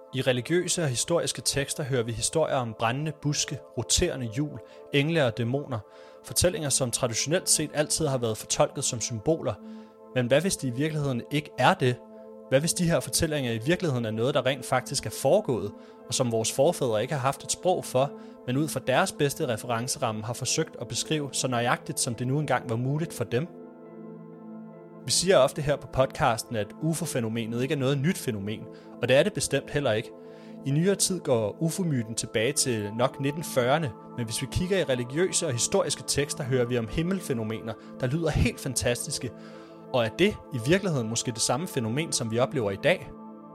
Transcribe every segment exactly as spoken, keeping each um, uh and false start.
I religiøse og historiske tekster hører vi historier om brændende buske, roterende hjul, engle og dæmoner. Fortællinger, som traditionelt set altid har været fortolket som symboler. Men hvad hvis de i virkeligheden ikke er det? Hvad hvis de her fortællinger i virkeligheden er noget, der rent faktisk er foregået, og som vores forfædre ikke har haft et sprog for, men ud fra deres bedste referenceramme har forsøgt at beskrive så nøjagtigt, som det nu engang var muligt for dem? Vi siger ofte her på podcasten, at U F O-fænomenet ikke er noget nyt fænomen, og det er det bestemt heller ikke. I nyere tid går U F O-myten tilbage til nok nitten fyrrerne, men hvis vi kigger i religiøse og historiske tekster, hører vi om himmelfænomener, der lyder helt fantastiske. Og er det i virkeligheden måske det samme fænomen, som vi oplever i dag?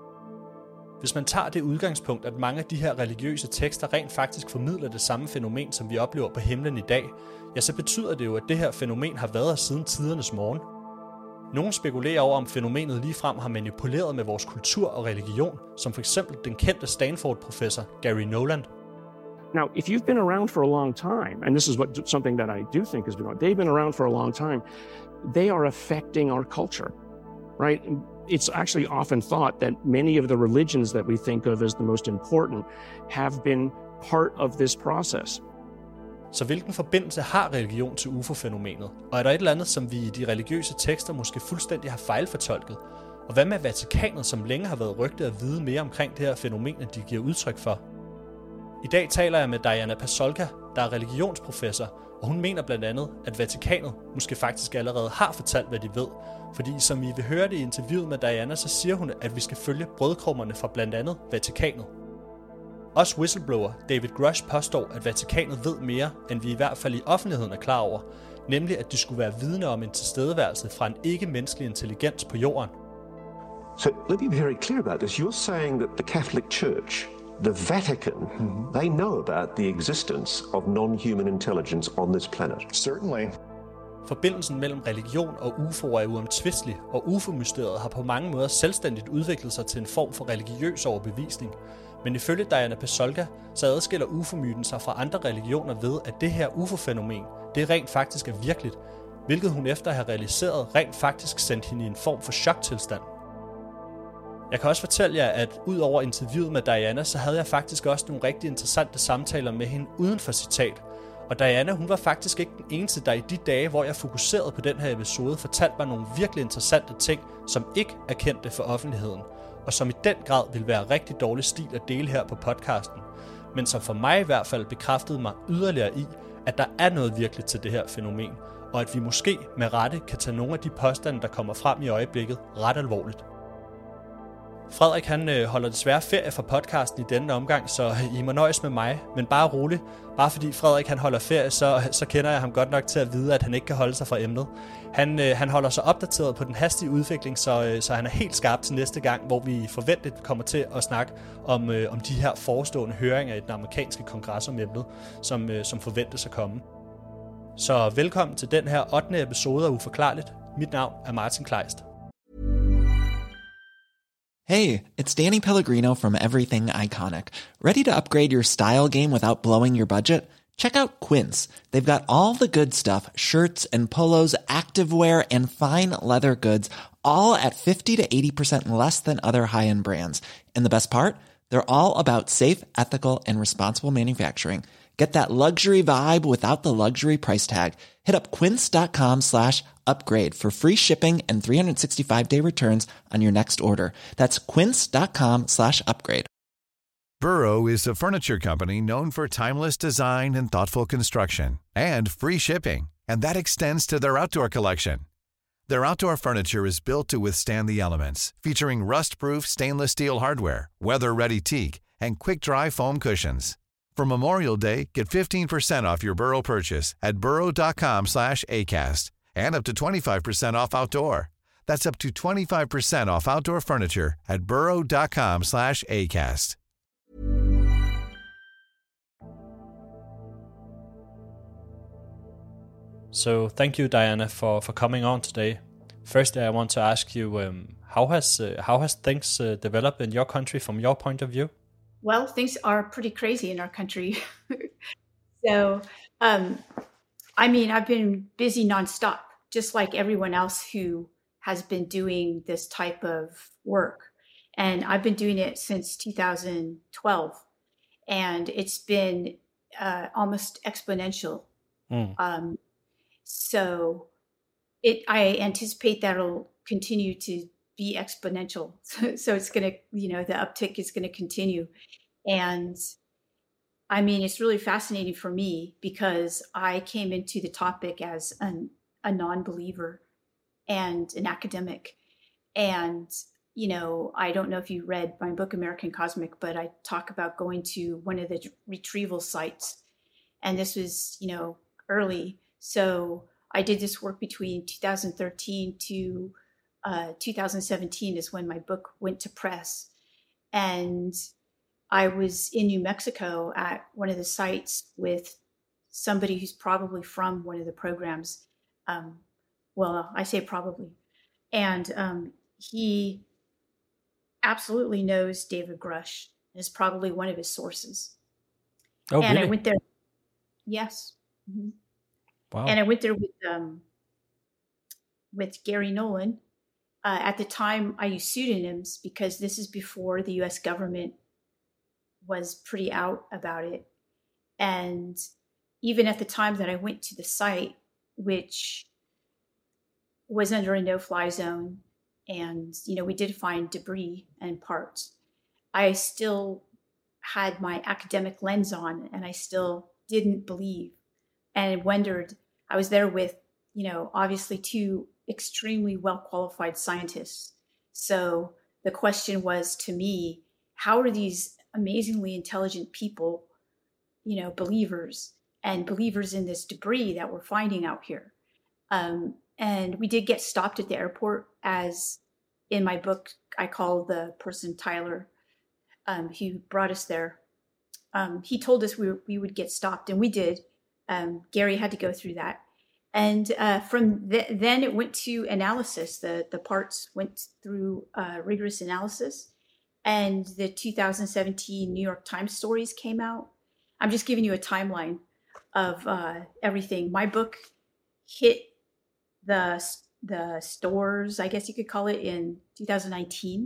Hvis man tager det udgangspunkt, at mange af de her religiøse tekster rent faktisk formidler det samme fænomen, som vi oplever på himlen i dag, ja, så betyder det jo, at det her fænomen har været her siden tidernes morgen. Nogle spekulerer over, om fænomenet ligefrem har manipuleret med vores kultur og religion, som for eksempel den kendte Stanford-professor Gary Noland. Now, if you've been around for a long time, and this is what something that I do think is going on, they've been around for a long time, they are affecting our culture, right? It's actually often thought that many of the religions that we think of as the most important have been part of this process. Så hvilken forbindelse har religion til U F O-fænomenet? Og er der et eller andet, som vi i de religiøse tekster måske fuldstændig har fejlfortolket? Og hvad med Vatikanet, som længe har været rygtet at vide mere omkring det her fænomen, end de giver udtryk for? I dag taler jeg med Diana Pasulka, der er religionsprofessor, og hun mener blandt andet, at Vatikanet måske faktisk allerede har fortalt, hvad de ved. Fordi som I vil høre det i interviewet med Diana, så siger hun, at vi skal følge brødkrummerne fra blandt andet Vatikanet. Også whistleblower David Grush påstår, at Vatikanet ved mere, end vi i hvert fald i offentligheden er klar over, nemlig at de skulle være vidne om en tilstedeværelse fra en ikke-menneskelig intelligens på jorden. So let me be very clear about this. You're saying that the Catholic Church, the Vatican, mm-hmm. they know about the existence of non-human intelligence on this planet. Certainly. Forbindelsen mellem religion og U F O'er er uomtvistelig, og U F O-mysteriet har på mange måder selvstændigt udviklet sig til en form for religiøs overbevisning. Men ifølge Diana Pasulka, så adskiller U F O-myten sig fra andre religioner ved, at det her U F O-fænomen, det rent faktisk er virkeligt, hvilket hun efter at have realiseret rent faktisk sendte hende i en form for choktilstand. Jeg kan også fortælle jer, at ud over interviewet med Diana, så havde jeg faktisk også nogle rigtig interessante samtaler med hende uden for citat. Og Diana, hun var faktisk ikke den eneste, der i de dage, hvor jeg fokuserede på den her episode, fortalte mig nogle virkelig interessante ting, som ikke er kendte for offentligheden, og som i den grad ville være rigtig dårlig stil at dele her på podcasten, men som for mig i hvert fald bekræftede mig yderligere i, at der er noget virkeligt til det her fænomen, og at vi måske med rette kan tage nogle af de påstande, der kommer frem i øjeblikket, ret alvorligt. Frederik han øh, holder desværre ferie fra podcasten i denne omgang, så I må nøjes med mig, men bare rolig. Bare fordi Frederik han holder ferie, så, så kender jeg ham godt nok til at vide, at han ikke kan holde sig fra emnet. Han, øh, han holder sig opdateret på den hastige udvikling, så, øh, så han er helt skarp til næste gang, hvor vi forventeligt kommer til at snakke om, øh, om de her forestående høringer i den amerikanske kongres om emnet, som, øh, som forventes at komme. Så velkommen til den her ottende episode af Uforklarligt. Mit navn er Martin Kleist. Hey, it's Danny Pellegrino from Everything Iconic. Ready to upgrade your style game without blowing your budget? Check out Quince. They've got all the good stuff, shirts and polos, activewear, and fine leather goods, all at fifty to eighty percent less than other high-end brands. And the best part? They're all about safe, ethical, and responsible manufacturing. Get that luxury vibe without the luxury price tag. Hit up quince.com slash upgrade for free shipping and three sixty-five day returns on your next order. That's quince.com slash upgrade. Burrow is a furniture company known for timeless design and thoughtful construction, and free shipping, and that extends to their outdoor collection. Their outdoor furniture is built to withstand the elements, featuring rust-proof stainless steel hardware, weather-ready teak, and quick-dry foam cushions. For Memorial Day, get fifteen percent off your Burrow purchase at burrow.com slash ACAST and up to twenty-five percent off outdoor. That's up to twenty-five percent off outdoor furniture at burrow.com slash ACAST. So thank you, Diana, for, for coming on today. Firstly, I want to ask you, um, how has uh, how has things uh, developed in your country from your point of view? Well, things are pretty crazy in our country. so, um, I mean, I've been busy nonstop, just like everyone else who has been doing this type of work. And I've been doing it since two thousand twelve. And it's been uh, almost exponential. Mm. Um, so it, I anticipate that it'll continue to be exponential. So, so it's going to, you know, the uptick is going to continue. And I mean, it's really fascinating for me because I came into the topic as an, a non-believer and an academic. And you know, I don't know if you read my book, American Cosmic, but I talk about going to one of the retrieval sites. And this was, you know, early. So I did this work between two thousand thirteen to uh, two thousand seventeen is when my book went to press. And I was in New Mexico at one of the sites with somebody who's probably from one of the programs. Um, well, I say probably. And um, he absolutely knows David Grush, is probably one of his sources. Oh, and really? I went there. Yes. Mm-hmm. Wow. And I went there with um, with Gary Nolan. Uh, at the time, I used pseudonyms because this is before the U S government was pretty out about it. And even at the time that I went to the site, which was under a no-fly zone, and, you know, we did find debris and parts, I still had my academic lens on, and I still didn't believe and wondered. I was there with, you know, obviously two extremely well-qualified scientists. So the question was to me, how are these amazingly intelligent people, you know, believers and believers in this debris that we're finding out here? Um, And we did get stopped at the airport, as in my book, I call the person Tyler, um, who brought us there. Um, he told us we, were, we would get stopped, and we did. Um, Gary had to go through that. And uh, from th- then it went to analysis. The, the parts went through uh, rigorous analysis. And the two thousand seventeen New York Times stories came out. I'm just giving you a timeline of uh, everything. My book hit the the stores, I guess you could call it, in two thousand nineteen.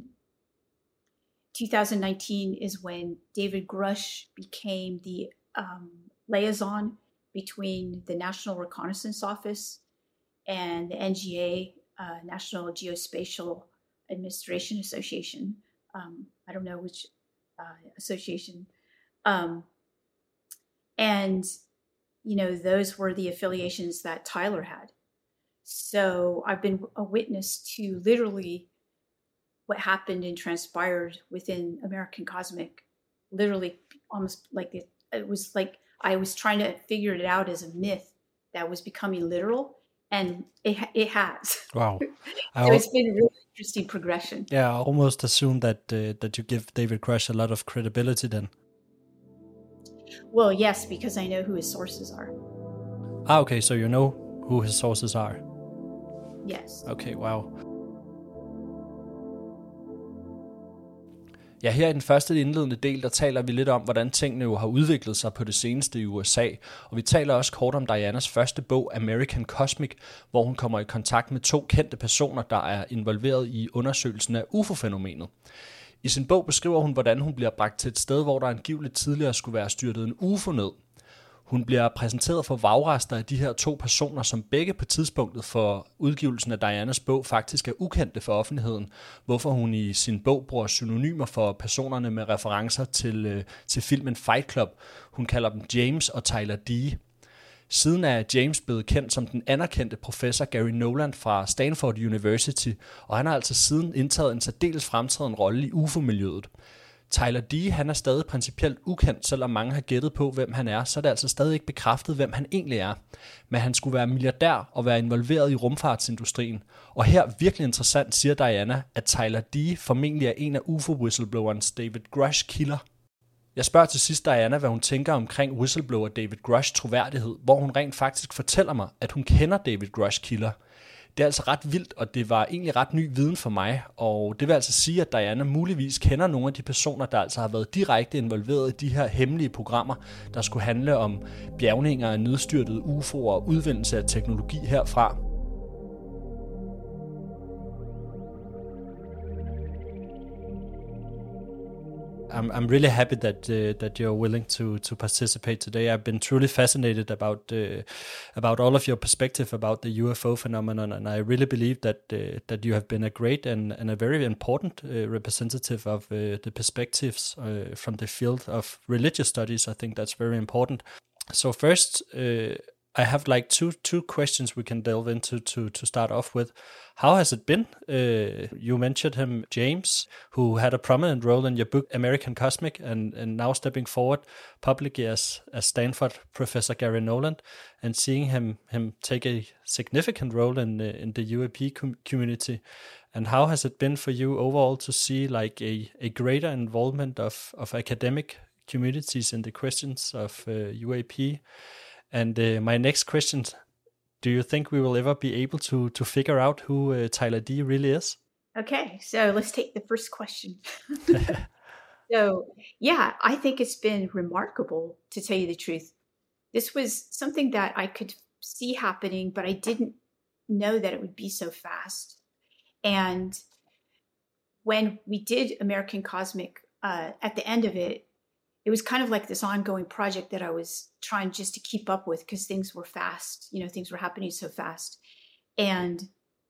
two thousand nineteen is when David Grush became the um, liaison between the National Reconnaissance Office and the N G A, uh, National Geospatial Administration Association. Um, I don't know which uh, association. Um, and, you know, those were the affiliations that Tyler had. So I've been a witness to literally what happened and transpired within American Cosmic, literally almost like it, it was like I was trying to figure it out as a myth that was becoming literal, and it it has. Wow. So it's been a really interesting progression. Yeah, I almost assume that uh, that you give David Grush a lot of credibility then. Well, yes, because I know who his sources are. Ah, okay, so you know who his sources are. Yes. Okay, wow. Ja, her i den første indledende del, der taler vi lidt om, hvordan tingene jo har udviklet sig på det seneste i U S A. Og vi taler også kort om Dianas første bog, American Cosmic, hvor hun kommer i kontakt med to kendte personer, der er involveret i undersøgelsen af U F O-fænomenet. I sin bog beskriver hun, hvordan hun bliver bragt til et sted, hvor der angiveligt tidligere skulle være styrtet en U F O ned. Hun bliver præsenteret for vragrester af de her to personer, som begge på tidspunktet for udgivelsen af Dianas bog faktisk er ukendte for offentligheden, hvorfor hun i sin bog bruger synonymer for personerne med referencer til, øh, til filmen Fight Club. Hun kalder dem James og Tyler D. Siden er James blevet kendt som den anerkendte professor Gary Nolan fra Stanford University, og han har altså siden indtaget en særdeles fremtrædende rolle i U F O-miljøet. Tyler D. han er stadig principielt ukendt, selvom mange har gættet på, hvem han er, så er det altså stadig ikke bekræftet, hvem han egentlig er. Men han skulle være milliardær og være involveret i rumfartsindustrien. Og her, virkelig interessant, siger Diana, at Tyler D. formentlig er en af U F O-whistleblowerens David Grush kilder. Jeg spørger til sidst Diana, hvad hun tænker omkring whistleblower David Grush troværdighed, hvor hun rent faktisk fortæller mig, at hun kender David Grush kilder. Det er altså ret vildt, og det var egentlig ret ny viden for mig, og det vil altså sige, at Diana muligvis kender nogle af de personer, der altså har været direkte involveret i de her hemmelige programmer, der skulle handle om bjergninger af nedstyrtede U F O'er og udvindelse af teknologi herfra. I'm I'm really happy that uh, that you're willing to to participate today. I've been truly fascinated about uh, about all of your perspective about the U F O phenomenon, and I really believe that uh, that you have been a great and, and a very important uh, representative of uh, the perspectives uh, from the field of religious studies. I think that's very important. So first, uh, I have like two two questions we can delve into to to start off with. How has it been? Uh, you mentioned him, James, who had a prominent role in your book American Cosmic, and, and now stepping forward publicly as as Stanford Professor Gary Nolan, and seeing him him take a significant role in the, in the U A P com- community. And how has it been for you overall to see like a, a greater involvement of of academic communities in the questions of uh, U A P? And uh, my next question, do you think we will ever be able to to figure out who uh, Tyler D really is? Okay, so let's take the first question. So, yeah, I think it's been remarkable, to tell you the truth. This was something that I could see happening, but I didn't know that it would be so fast. And when we did American Cosmic, uh, at the end of it, it was kind of like this ongoing project that I was trying just to keep up with because things were fast, you know, things were happening so fast. And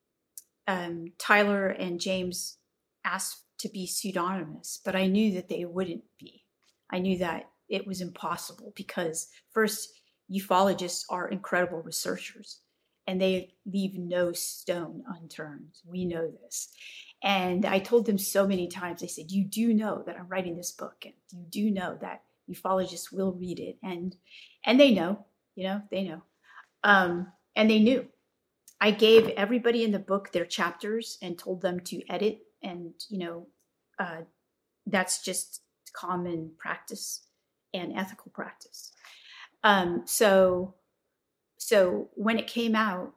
um, Tyler and James asked to be pseudonymous, but I knew that they wouldn't be. I knew that it was impossible because first, ufologists are incredible researchers and they leave no stone unturned. We know this. And I told them so many times, I said, you do know that I'm writing this book and you do know that ufologists will read it. And and they know, you know, they know. Um, and they knew. I gave everybody in the book their chapters and told them to edit. And, you know, uh, that's just common practice and ethical practice. Um, so, so when it came out,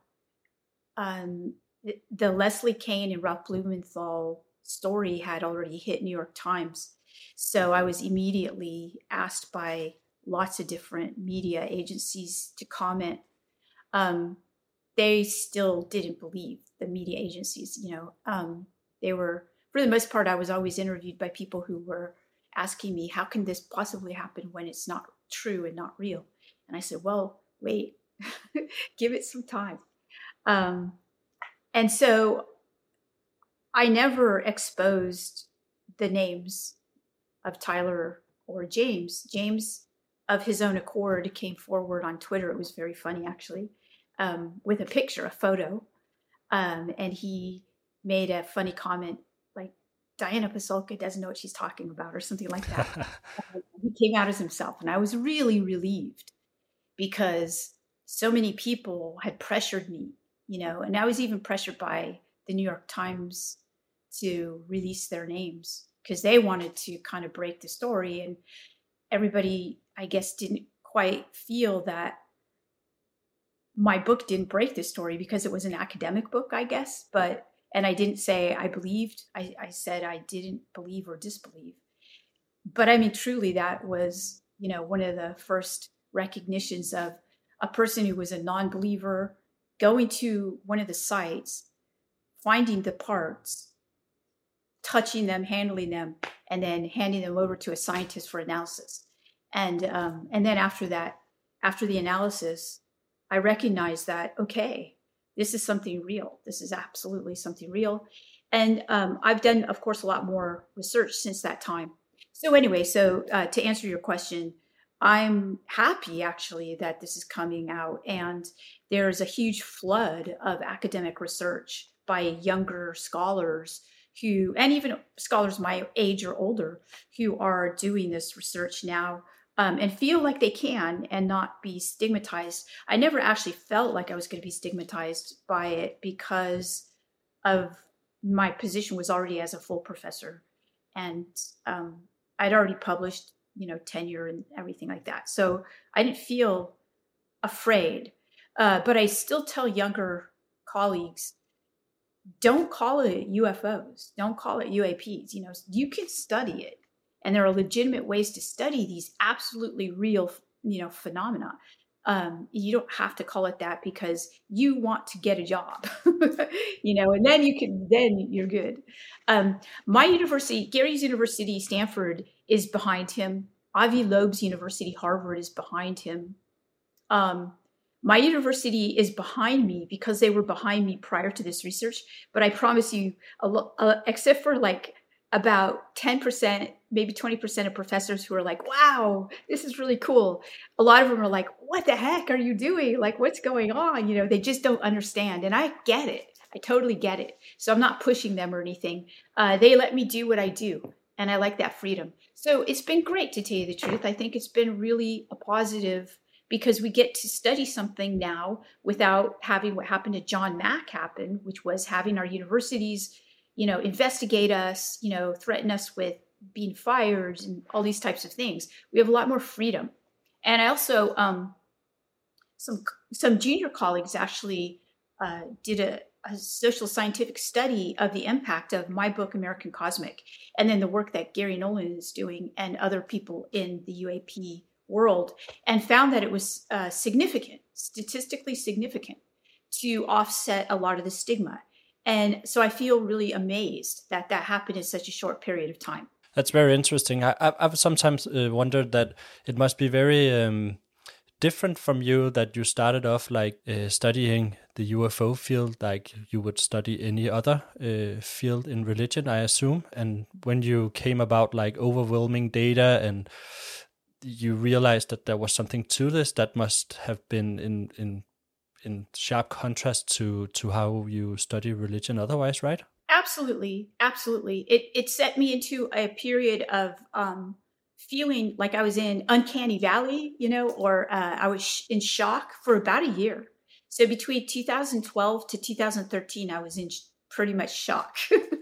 um, the Leslie Kean and Ralph Blumenthal story had already hit New York Times. So I was immediately asked by lots of different media agencies to comment. Um, they still didn't believe, the media agencies, you know, um, they were, for the most part, I was always interviewed by people who were asking me, how can this possibly happen when it's not true and not real? And I said, well, wait, give it some time. Um, And so I never exposed the names of Tyler or James. James, of his own accord, came forward on Twitter. It was very funny, actually, um, with a picture, a photo. Um, and he made a funny comment like, Diana Pasulka doesn't know what she's talking about or something like that. He came out as himself. And I was really relieved because so many people had pressured me. You know, and I was even pressured by the New York Times to release their names because they wanted to kind of break the story. And everybody, I guess, didn't quite feel that my book didn't break the story because it was an academic book, I guess. But, and I didn't say I believed, I, I said I didn't believe or disbelieve. But I mean, truly, that was, you know, one of the first recognitions of a person who was a non-believer going to one of the sites, finding the parts, touching them, handling them, and then handing them over to a scientist for analysis. And um, and then after that, after the analysis, I recognized that, okay, this is something real. This is absolutely something real. And um, I've done, of course, a lot more research since that time. So anyway, so uh, to answer your question, I'm happy actually that this is coming out, and there's a huge flood of academic research by younger scholars who, and even scholars my age or older, who are doing this research now um, and feel like they can and not be stigmatized. I never actually felt like I was going to be stigmatized by it because of my position was already as a full professor, and um, I'd already published, you know, tenure and everything like that. So I didn't feel afraid, uh, but I still tell younger colleagues, don't call it U F Os. Don't call it U A Ps. You know, you can study it. And there are legitimate ways to study these absolutely real, you know, phenomena. Um, you don't have to call it that because you want to get a job, you know, and then you can, then you're good. Um, my university, Gary's University, Stanford, is behind him. Avi Loeb's university, Harvard, is behind him. Um, my university is behind me because they were behind me prior to this research. But I promise you, a lo- uh, except for like about ten percent, maybe twenty percent of professors who are like, wow, this is really cool. A lot of them are like, what the heck are you doing? Like, what's going on? You know, they just don't understand. And I get it. I totally get it. So I'm not pushing them or anything. Uh, they let me do what I do. And I like that freedom. So it's been great, to tell you the truth. I think it's been really a positive, because we get to study something now without having what happened to John Mack happen, which was having our universities, you know, investigate us, you know, threaten us with being fired and all these types of things. We have a lot more freedom. And I also, um, some some junior colleagues actually uh, did a, a social scientific study of the impact of my book, American Cosmic, and then the work that Gary Nolan is doing and other people in the U A P world, and found that it was uh, significant, statistically significant, to offset a lot of the stigma. And so I feel really amazed that that happened in such a short period of time. That's very interesting. I, I've sometimes uh, wondered that it must be very um, different from you, that you started off like uh, studying the U F O field like you would study any other uh, field in religion, I assume. And when you came about like overwhelming data and you realized that there was something to this, that must have been in in in sharp contrast to to how you study religion otherwise, right? Absolutely, absolutely. It it set me into a period of um, feeling like I was in uncanny valley, you know, or uh, I was sh- in shock for about a year. So between two thousand twelve to two thousand thirteen, I was in sh- pretty much shock,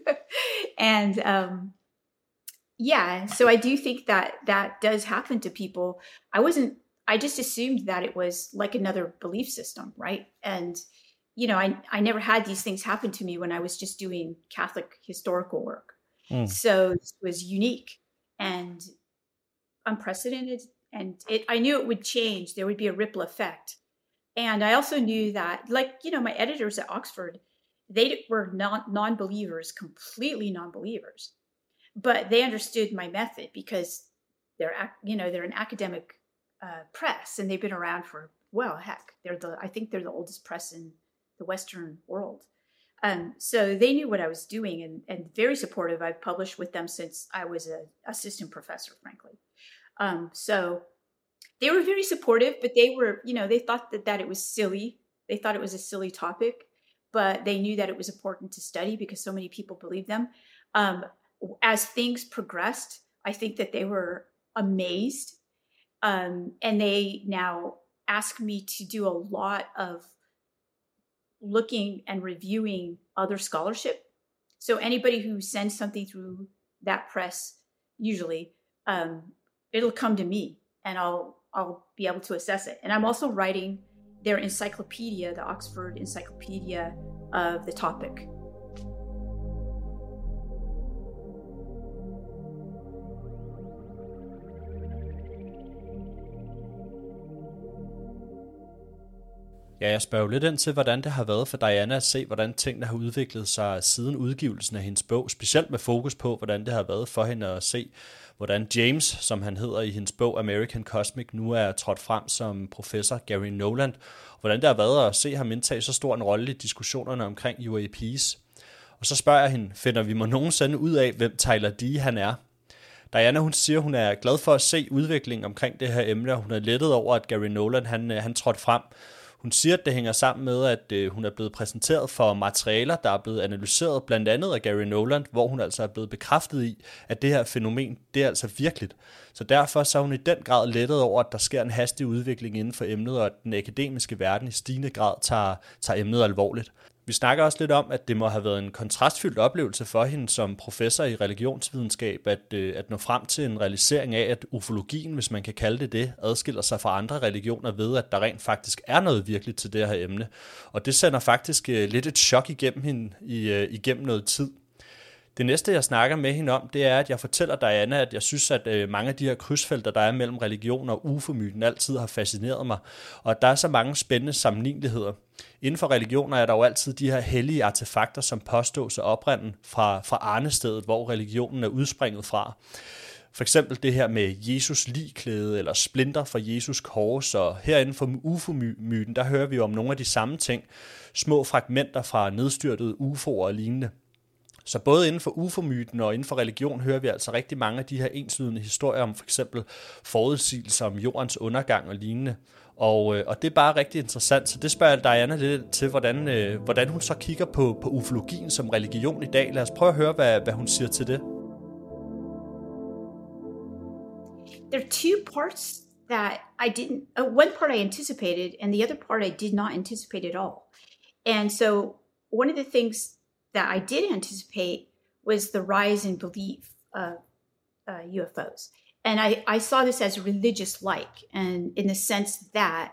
and um, yeah. So I do think that that does happen to people. I wasn't. I just assumed that it was like another belief system, right? And you know, I, I never had these things happen to me when I was just doing Catholic historical work. Mm. So it was unique and unprecedented. And it, I knew it would change. There would be a ripple effect. And I also knew that, like, you know, my editors at Oxford, they were non, non-believers, completely non-believers. But they understood my method because they're, you know, they're an academic uh, press, and they've been around for, well, heck, they're the, I think they're the oldest press in the Western world. Um, so they knew what I was doing, and, and very supportive. I've published with them since I was an assistant professor, frankly. Um, so they were very supportive, but they were, you know, they thought that, that it was silly. They thought it was a silly topic, but they knew that it was important to study because so many people believed them. Um, as things progressed, I think that they were amazed. Um, and they now ask me to do a lot of looking and reviewing other scholarship. So anybody who sends something through that press, usually, um, it'll come to me, and I'll I'll be able to assess it. And I'm also writing their encyclopedia, the Oxford Encyclopedia of the topic. Ja, jeg spørger jo lidt ind til, hvordan det har været for Diana at se, hvordan tingene har udviklet sig siden udgivelsen af hendes bog, specielt med fokus på, hvordan det har været for hende at se, hvordan James, som han hedder i hendes bog American Cosmic, nu er trådt frem som professor Gary Nolan, og hvordan det har været at se ham indtage så stor en rolle i diskussionerne omkring U A Ps. Og så spørger jeg hende, finder vi må nogensinde ud af, hvem Tyler D. han er? Diana, hun siger, hun er glad for at se udviklingen omkring det her emne, og hun er lettet over, at Gary Nolan han, han trådte frem. Hun siger, at det hænger sammen med, at øh, hun er blevet præsenteret for materialer, der er blevet analyseret blandt andet af Gary Nolan, hvor hun altså er blevet bekræftet i, at det her fænomen, det er altså virkeligt. Så derfor så er hun i den grad lettet over, at der sker en hastig udvikling inden for emnet, og at den akademiske verden i stigende grad tager, tager emnet alvorligt. Vi snakker også lidt om, at det må have været en kontrastfyldt oplevelse for hende som professor i religionsvidenskab, at, øh, at nå frem til en realisering af, at ufologien, hvis man kan kalde det det, adskiller sig fra andre religioner ved, at der rent faktisk er noget virkeligt til det her emne. Og det sender faktisk øh, lidt et chok igennem hende i, øh, igennem noget tid. Det næste, jeg snakker med hende om, det er, at jeg fortæller Diana, at jeg synes, at øh, mange af de her krydsfelter, der er mellem religion og U F O-myten, altid har fascineret mig, og at der er så mange spændende sammenligneligheder. Inden for religioner er der jo altid de her hellige artefakter, som påstås at oprinde fra, fra arnestedet, hvor religionen er udspringet fra. For eksempel det her med Jesus ligklæde eller splinter fra Jesus kors, og herinde for U F O-myten, der hører vi jo om nogle af de samme ting, små fragmenter fra nedstyrtede U F O'er og lignende. Så både inden for U F O-myten og inden for religion hører vi altså rigtig mange af de her enslydende historier om for eksempel forudsigelser om jordens undergang og lignende. Og, og det er bare rigtig interessant, så det spørger Diana lidt til, hvordan, øh, hvordan hun så kigger på, på ufologien som religion i dag. Lad os prøve at høre, hvad, hvad hun siger til det. There are two parts that I didn't, uh, one part I anticipated and the other part I did not anticipate at all. And so one of the things that I did anticipate was the rise in belief of uh, U F Os. And I, I saw this as religious-like, and in the sense that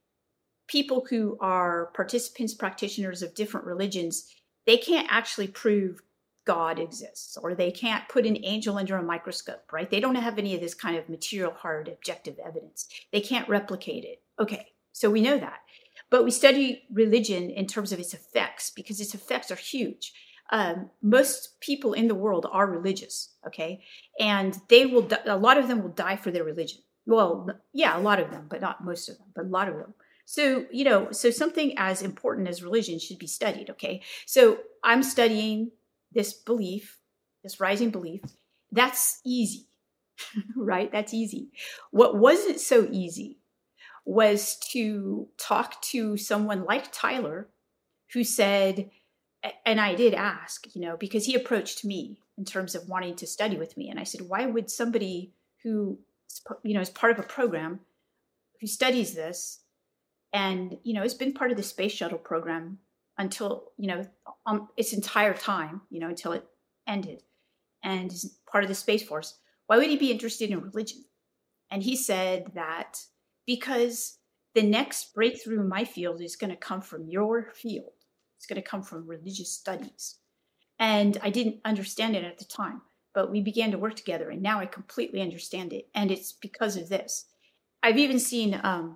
people who are participants, practitioners of different religions, they can't actually prove God exists, or they can't put an angel under a microscope, right? They don't have any of this kind of material, hard, objective evidence. They can't replicate it. Okay, so we know that. But we study religion in terms of its effects, because its effects are huge. Um, most people in the world are religious, okay? And they will, a lot of them will die for their religion. Well, yeah, a lot of them, but not most of them, but a lot of them. So, you know, so something as important as religion should be studied, okay? So I'm studying this belief, this rising belief. That's easy, right? That's easy. What wasn't so easy was to talk to someone like Tyler, who said, and I did ask, you know, because he approached me in terms of wanting to study with me. And I said, why would somebody who, you know, is part of a program who studies this and, you know, has been part of the space shuttle program until, you know, um, its entire time, you know, until it ended, and is part of the Space Force, why would he be interested in religion? And he said that because the next breakthrough in my field is going to come from your field. It's going to come from religious studies. And I didn't understand it at the time, but we began to work together, and now I completely understand it. And it's because of this. I've even seen um,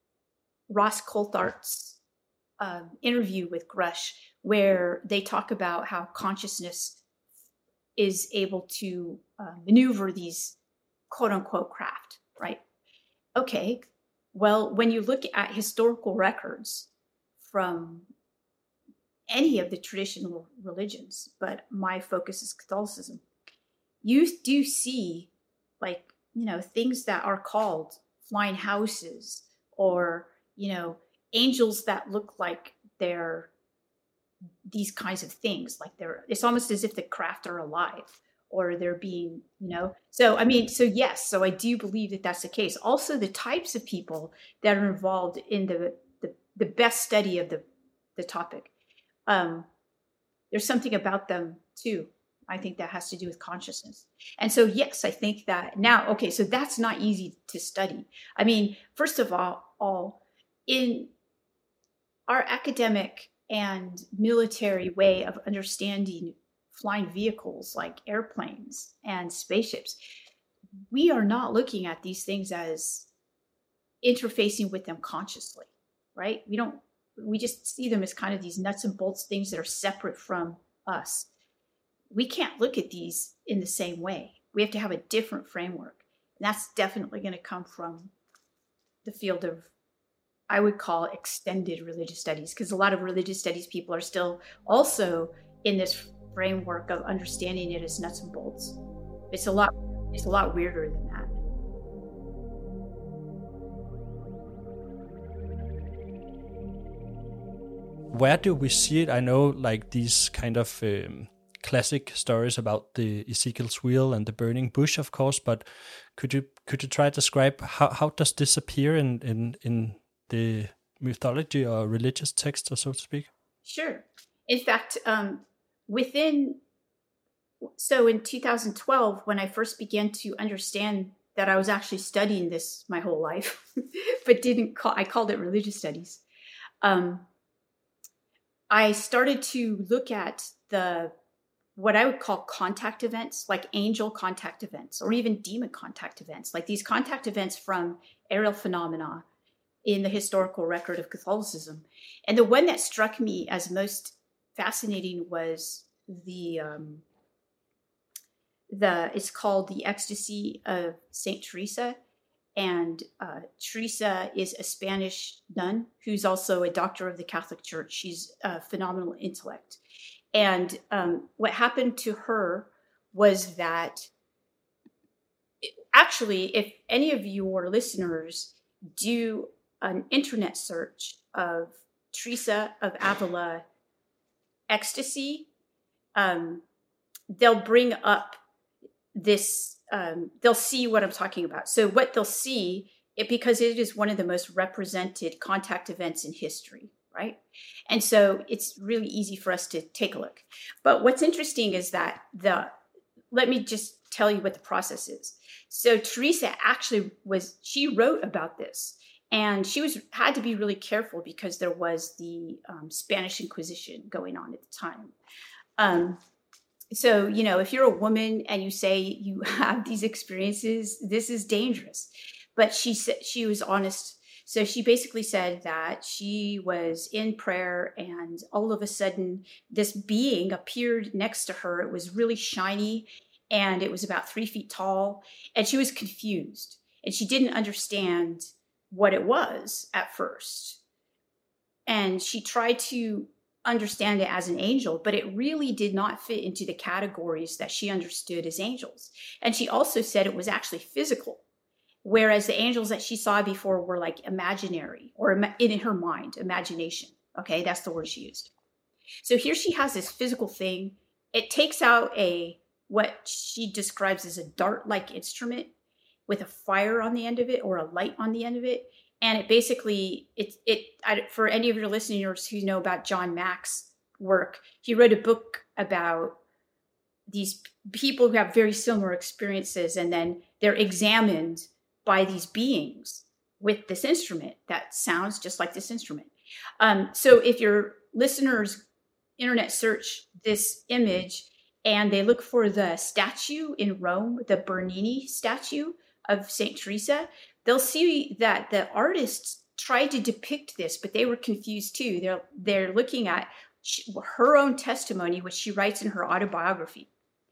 Ross Coulthard's uh, interview with Grush, where they talk about how consciousness is able to uh, maneuver these quote unquote craft, right? Okay, well, when you look at historical records from any of the traditional religions, but my focus is Catholicism, you do see, like, you know, things that are called flying houses, or, you know, angels that look like they're these kinds of things, like they're, it's almost as if the craft are alive, or they're being, you know, so, I mean, so yes, so I do believe that that's the case. Also, the types of people that are involved in the, the, the best study of the, the topic, um, there's something about them too. I think that has to do with consciousness. And so, yes, I think that now, okay, so that's not easy to study. I mean, first of all, all in our academic and military way of understanding flying vehicles like airplanes and spaceships, we are not looking at these things as interfacing with them consciously, right? We don't, we just see them as kind of these nuts and bolts things that are separate from us. We can't look at these in the same way. We have to have a different framework. And that's definitely going to come from the field of, I would call, extended religious studies, because a lot of religious studies people are still also in this framework of understanding it as nuts and bolts. It's a lot, it's a lot weirder than that. Where do we see it? I know, like, these kind of um, classic stories about the Ezekiel's wheel and the burning bush, of course, but could you could you try to describe how, how does this appear in, in, in the mythology or religious text, or so to speak? Sure. In fact, um, within, so in two thousand twelve, when I first began to understand that I was actually studying this my whole life, but didn't call, I called it religious studies. Um, I started to look at the, what I would call contact events, like angel contact events, or even demon contact events, like these contact events from aerial phenomena in the historical record of Catholicism. And the one that struck me as most fascinating was the, um, the it's called The Ecstasy of Saint Teresa. And uh, Teresa is a Spanish nun who's also a doctor of the Catholic Church. She's a phenomenal intellect. And um, what happened to her was that, actually, if any of your listeners do an internet search of Teresa of Avila ecstasy, um, they'll bring up this. Um, they'll see what I'm talking about. So what they'll see, it because it is one of the most represented contact events in history, right? And so it's really easy for us to take a look. But what's interesting is that the, let me just tell you what the process is. So Teresa actually was, she wrote about this, and she was had to be really careful because there was the um, Spanish Inquisition going on at the time. Um, So, you know, if you're a woman and you say you have these experiences, this is dangerous. But she said she was honest. So she basically said that she was in prayer and all of a sudden this being appeared next to her. It was really shiny and it was about three feet tall, and she was confused and she didn't understand what it was at first. And she tried to understand it as an angel, but it really did not fit into the categories that she understood as angels. And she also said it was actually physical, whereas the angels that she saw before were like imaginary or in her mind, imagination. Okay, that's the word she used. So here she has this physical thing. It takes out a, what she describes as a dart-like instrument with a fire on the end of it or a light on the end of it. And it basically, it, it I, for any of your listeners who know about John Mack's work, he wrote a book about these people who have very similar experiences, and then they're examined by these beings with this instrument that sounds just like this instrument. Um, so if your listeners internet search this image and they look for the statue in Rome, the Bernini statue of Saint Teresa, they'll see that the artists tried to depict this, but they were confused too. They're they're looking at her own testimony, which she writes in her autobiography,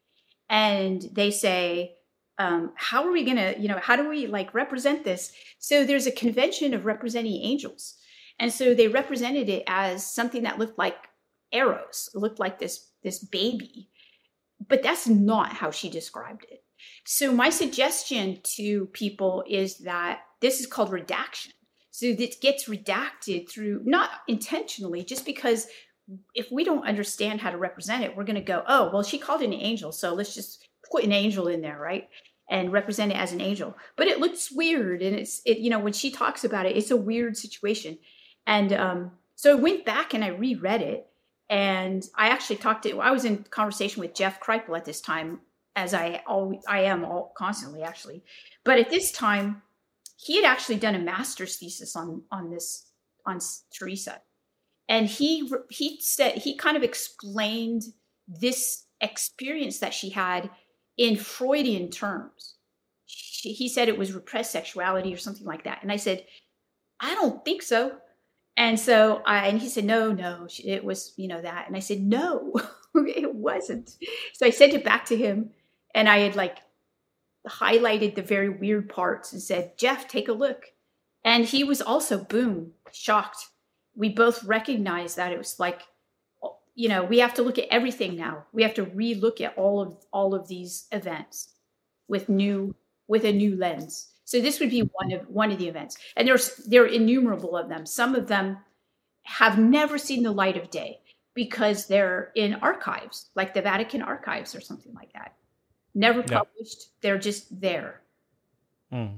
and they say, um, "How are we gonna, you know, how do we like represent this?" So there's a convention of representing angels, and so they represented it as something that looked like arrows, it looked like this this baby, but that's not how she described it. So my suggestion to people is that this is called redaction. So it gets redacted through, not intentionally, just because if we don't understand how to represent it, we're going to go, oh, well, she called it an angel, so let's just put an angel in there, right? And represent it as an angel. But it looks weird. And it's, it, you know, when she talks about it, it's a weird situation. And um, so I went back and I reread it. And I actually talked to, I was in conversation with Jeff Kripal at this time, as I always, I am all constantly actually. But at this time, he had actually done a master's thesis on, on this, on Teresa. And he, he said, he kind of explained this experience that she had in Freudian terms. She, he said it was repressed sexuality or something like that. And I said, I don't think so. And so I, and he said, no, no, it was, you know, that. And I said, no, it wasn't. So I sent it back to him. And I had like highlighted the very weird parts and said, Jeff, take a look. And he was also, boom, shocked. We both recognized that it was like, you know, we have to look at everything now. We have to re-look at all of all of these events with new, with a new lens. So this would be one of one of the events. And there's there are innumerable of them. Some of them have never seen the light of day because they're in archives, like the Vatican archives or something like that. Never published. Yeah. They're just there. Mm.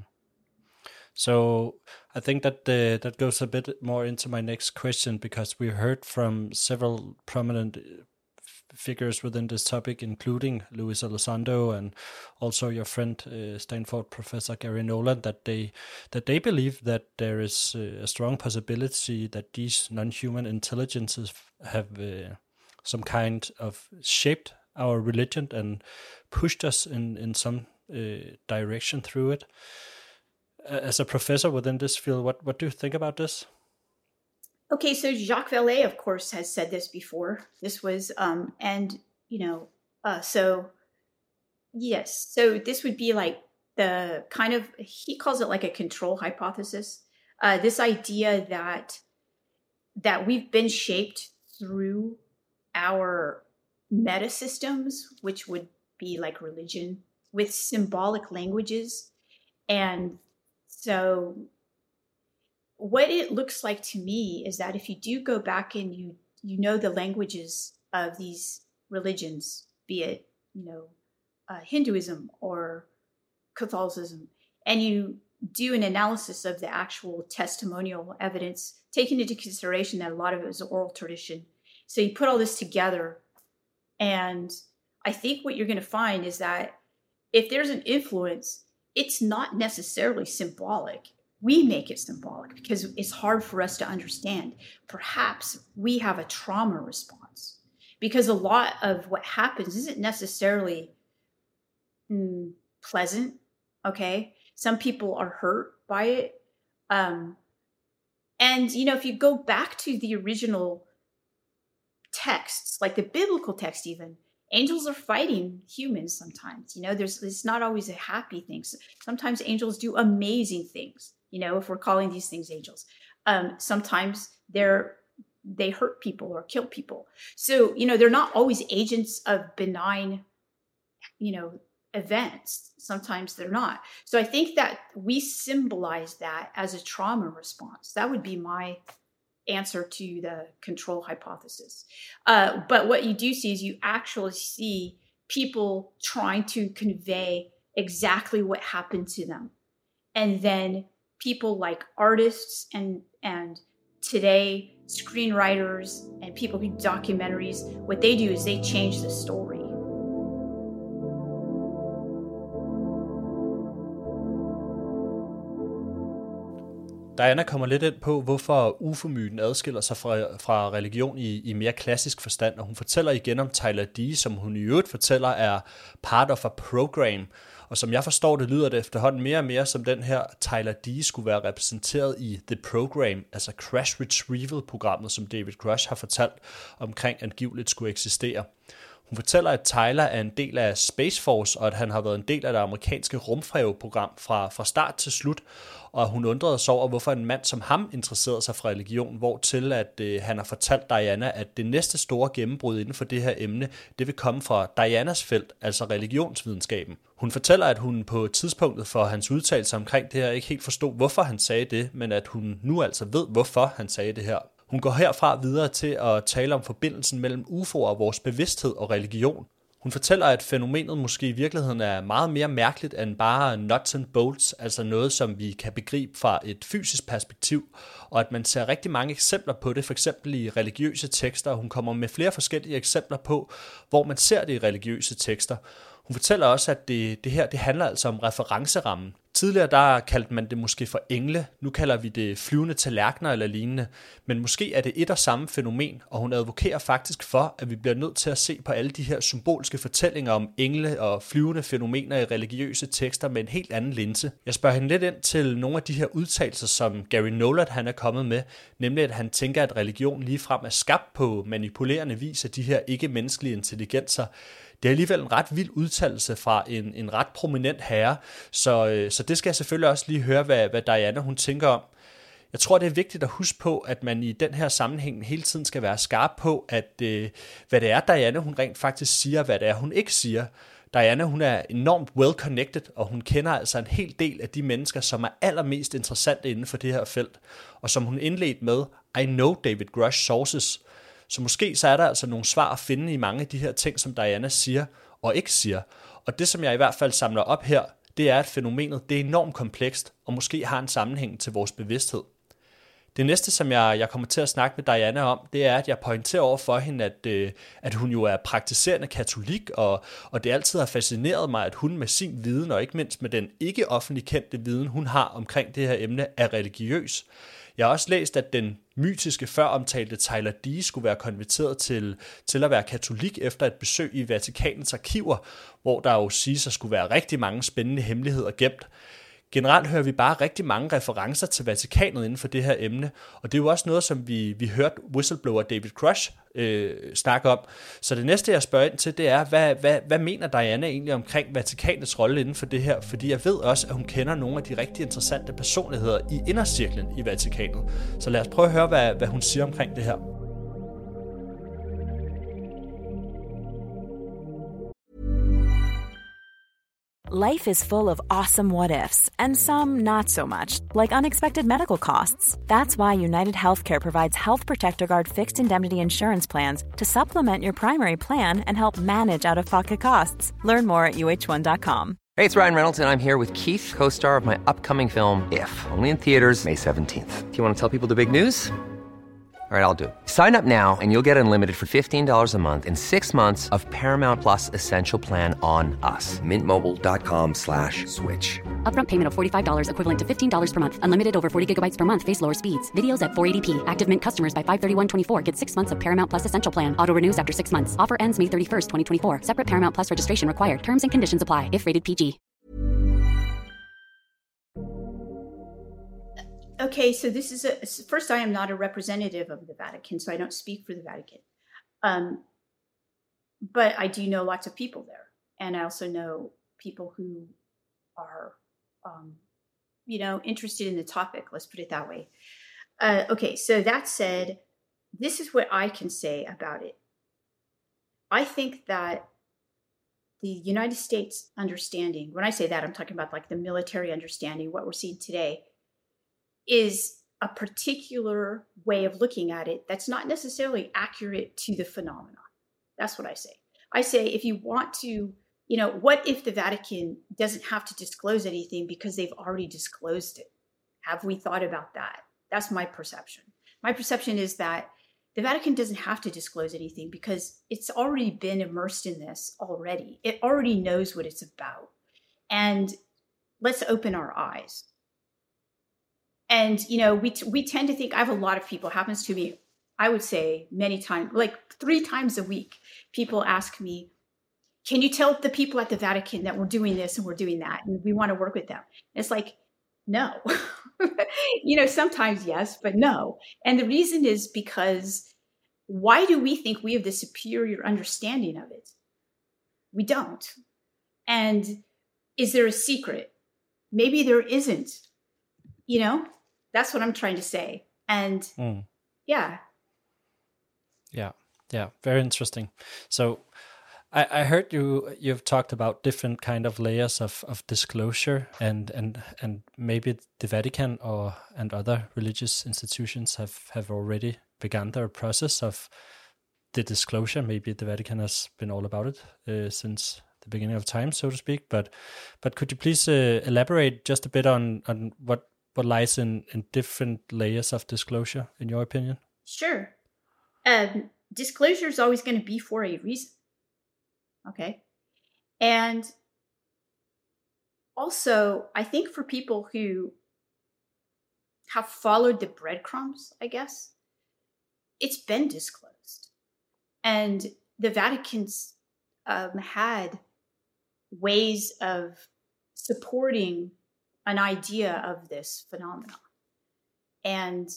So I think that the, that goes a bit more into my next question, because we heard from several prominent figures within this topic, including Luis Elizondo and also your friend uh, Stanford professor Gary Nolan, that they that they believe that there is uh, a strong possibility that these non-human intelligences have uh, some kind of shaped our religion and pushed us in in some uh, direction through it. As a professor within this field, what, what do you think about this? Okay, so Jacques Vallée, of course, has said this before. This was, um, and, you know, uh, so Yes. So this would be like the kind of, he calls it like a control hypothesis. Uh, this idea that that we've been shaped through our meta systems, which would be like religion, with symbolic languages. And so what it looks like to me is that if you do go back and you you know the languages of these religions, be it, you know, uh, Hinduism or Catholicism, and you do an analysis of the actual testimonial evidence, taking into consideration that a lot of it was oral tradition. So you put all this together, and I think what you're going to find is that if there's an influence, it's not necessarily symbolic. We make it symbolic because it's hard for us to understand. Perhaps we have a trauma response because a lot of what happens isn't necessarily mm, pleasant. Okay. Some people are hurt by it. Um, and, you know, if you go back to the original texts, like the biblical text, even, angels are fighting humans sometimes. You know, there's, it's not always a happy thing. Sometimes angels do amazing things, you know, if we're calling these things angels. Um, sometimes they're, they hurt people or kill people. So, you know, they're not always agents of benign, you know, events. Sometimes they're not. So I think that we symbolize that as a trauma response. That would be my answer to the control hypothesis. Uh, but what you do see is you actually see people trying to convey exactly what happened to them. And then people like artists and, and today screenwriters and people who do documentaries, what they do is they change the story. Diana kommer lidt ind på, hvorfor U F O-myten adskiller sig fra, fra religion i, i mere klassisk forstand, og hun fortæller igen om Tyler Dee, som hun i øvrigt fortæller er part of a program, og som jeg forstår det, lyder det efterhånden mere og mere som den her Tyler Dee skulle være repræsenteret i The Program, altså Crash Retrieval-programmet, som David Grush har fortalt omkring angiveligt skulle eksistere. Hun fortæller, at Tyler er en del af Space Force, og at han har været en del af det amerikanske rumfærgeprogram fra, fra start til slut, og hun undrede sig over, hvorfor en mand som ham interesserede sig for religion, hvortil at øh, han har fortalt Diana, at det næste store gennembrud inden for det her emne, det vil komme fra Dianas felt, altså religionsvidenskaben. Hun fortæller, at hun på tidspunktet for hans udtalelse omkring det her ikke helt forstod, hvorfor han sagde det, men at hun nu altså ved, hvorfor han sagde det her. Hun går herfra videre til at tale om forbindelsen mellem U F O'er og vores bevidsthed og religion. Hun fortæller, at fænomenet måske i virkeligheden er meget mere mærkeligt end bare nuts and bolts, altså noget, som vi kan begribe fra et fysisk perspektiv, og at man ser rigtig mange eksempler på det, for eksempel i religiøse tekster, og hun kommer med flere forskellige eksempler på, hvor man ser det i religiøse tekster. Hun fortæller også, at det, det her det handler altså om referencerammen. Tidligere der kaldte man det måske for engle, nu kalder vi det flyvende tallerkener eller lignende, men måske er det et og samme fænomen, og hun advokerer faktisk for, at vi bliver nødt til at se på alle de her symbolske fortællinger om engle og flyvende fænomener i religiøse tekster med en helt anden linse. Jeg spørger hende lidt ind til nogle af de her udtalelser, som Gary Nolan han er kommet med, nemlig at han tænker, at religion ligefrem er skabt på manipulerende vis af de her ikke-menneskelige intelligenser. Det er alligevel en ret vild udtalelse fra en, en ret prominent herre, så, øh, så det skal jeg selvfølgelig også lige høre, hvad, hvad Diana hun tænker om. Jeg tror, det er vigtigt at huske på, at man i den her sammenhæng hele tiden skal være skarp på, at øh, hvad det er, Diana hun rent faktisk siger, hvad det er, hun ikke siger. Diana hun er enormt well-connected, og hun kender altså en hel del af de mennesker, som er allermest interessante inden for det her felt. Og som hun indledte med, I know David Grush sources. Så måske så er der altså nogle svar at finde i mange af de her ting, som Diana siger og ikke siger. Og det, som jeg i hvert fald samler op her, det er, at fænomenet det er enormt komplekst, og måske har en sammenhæng til vores bevidsthed. Det næste, som jeg, jeg kommer til at snakke med Diana om, det er, at jeg pointerer over for hende, at, øh, at hun jo er praktiserende katolik, og, og det altid har fascineret mig, at hun med sin viden, og ikke mindst med den ikke offentlig kendte viden, hun har omkring det her emne, er religiøs. Jeg har også læst, at den mytiske før omtalte Tyler Dee skulle være konverteret til, til at være katolik efter et besøg i Vatikanets arkiver, hvor der jo siges at skulle være rigtig mange spændende hemmeligheder gemt. generelt hører vi bare rigtig mange referencer til Vatikanet inden for det her emne, og det er jo også noget, som vi, vi hørte whistleblower David Grush øh, snakke om. Så det næste, jeg spørger ind til, det er, hvad, hvad, hvad mener Diana egentlig omkring Vatikanets rolle inden for det her? Fordi jeg ved også, at hun kender nogle af de rigtig interessante personligheder i indercirklen i Vatikanet. Så lad os prøve at høre, hvad, hvad hun siger omkring det her. Life is full of awesome what-ifs, and some not so much, like unexpected medical costs. That's why United Healthcare provides Health Protector Guard fixed indemnity insurance plans to supplement your primary plan and help manage out-of-pocket costs. Learn more at U H one dot com. Hey, it's Ryan Reynolds, and I'm here with Keith, co-star of my upcoming film, If, only in theaters May seventeenth. Do you want to tell people the big news? All right, I'll do it. Sign up now and you'll get unlimited for fifteen dollars a month and six months of Paramount Plus Essential Plan on us. Mint Mobile dot com slash switch. Upfront payment of forty-five dollars equivalent to fifteen dollars per month. Unlimited over forty gigabytes per month. Face lower speeds. Videos at four eighty p. Active Mint customers by five thirty-one twenty-four get six months of Paramount Plus Essential Plan. Auto renews after six months. Offer ends May thirty-first, twenty twenty-four. Separate Paramount Plus registration required. Terms and conditions apply if rated P G. Okay, so this is a first. I am not a representative of the Vatican, so I don't speak for the Vatican. Um, but I do know lots of people there, and I also know people who are, um, you know, interested in the topic. Let's put it that way. Uh, okay, so that said, this is what I can say about it. I think that the United States understanding, when I say that, I'm talking about like the military understanding, what we're seeing today, is a particular way of looking at it that's not necessarily accurate to the phenomenon. That's what I say. I say, if you want to, you know, what if the Vatican doesn't have to disclose anything because they've already disclosed it? Have we thought about that? That's my perception. My perception is that the Vatican doesn't have to disclose anything because it's already been immersed in this already. It already knows what it's about. And let's open our eyes. And, you know, we we tend to think, I have a lot of people, happens to me, I would say many times, like three times a week, people ask me, can you tell the people at the Vatican that we're doing this and we're doing that and we want to work with them? And it's like, no. You know, sometimes yes, but no. And the reason is because why do we think we have the superior understanding of it? We don't. And is there a secret? Maybe there isn't. You know, that's what I'm trying to say. And mm. yeah. Yeah. Yeah. Very interesting. So I, I heard you, you've talked about different kind of layers of, of disclosure and, and, and maybe the Vatican or, and other religious institutions have, have already begun their process of the disclosure. Maybe the Vatican has been all about it uh, since the beginning of time, so to speak. But, but could you please uh, elaborate just a bit on, on what, what lies in, in different layers of disclosure, in your opinion? Sure. Um, disclosure is always going to be for a reason. Okay. And also, I think for people who have followed the breadcrumbs, I guess, it's been disclosed. And the Vatican's um, had ways of supporting an idea of this phenomenon. And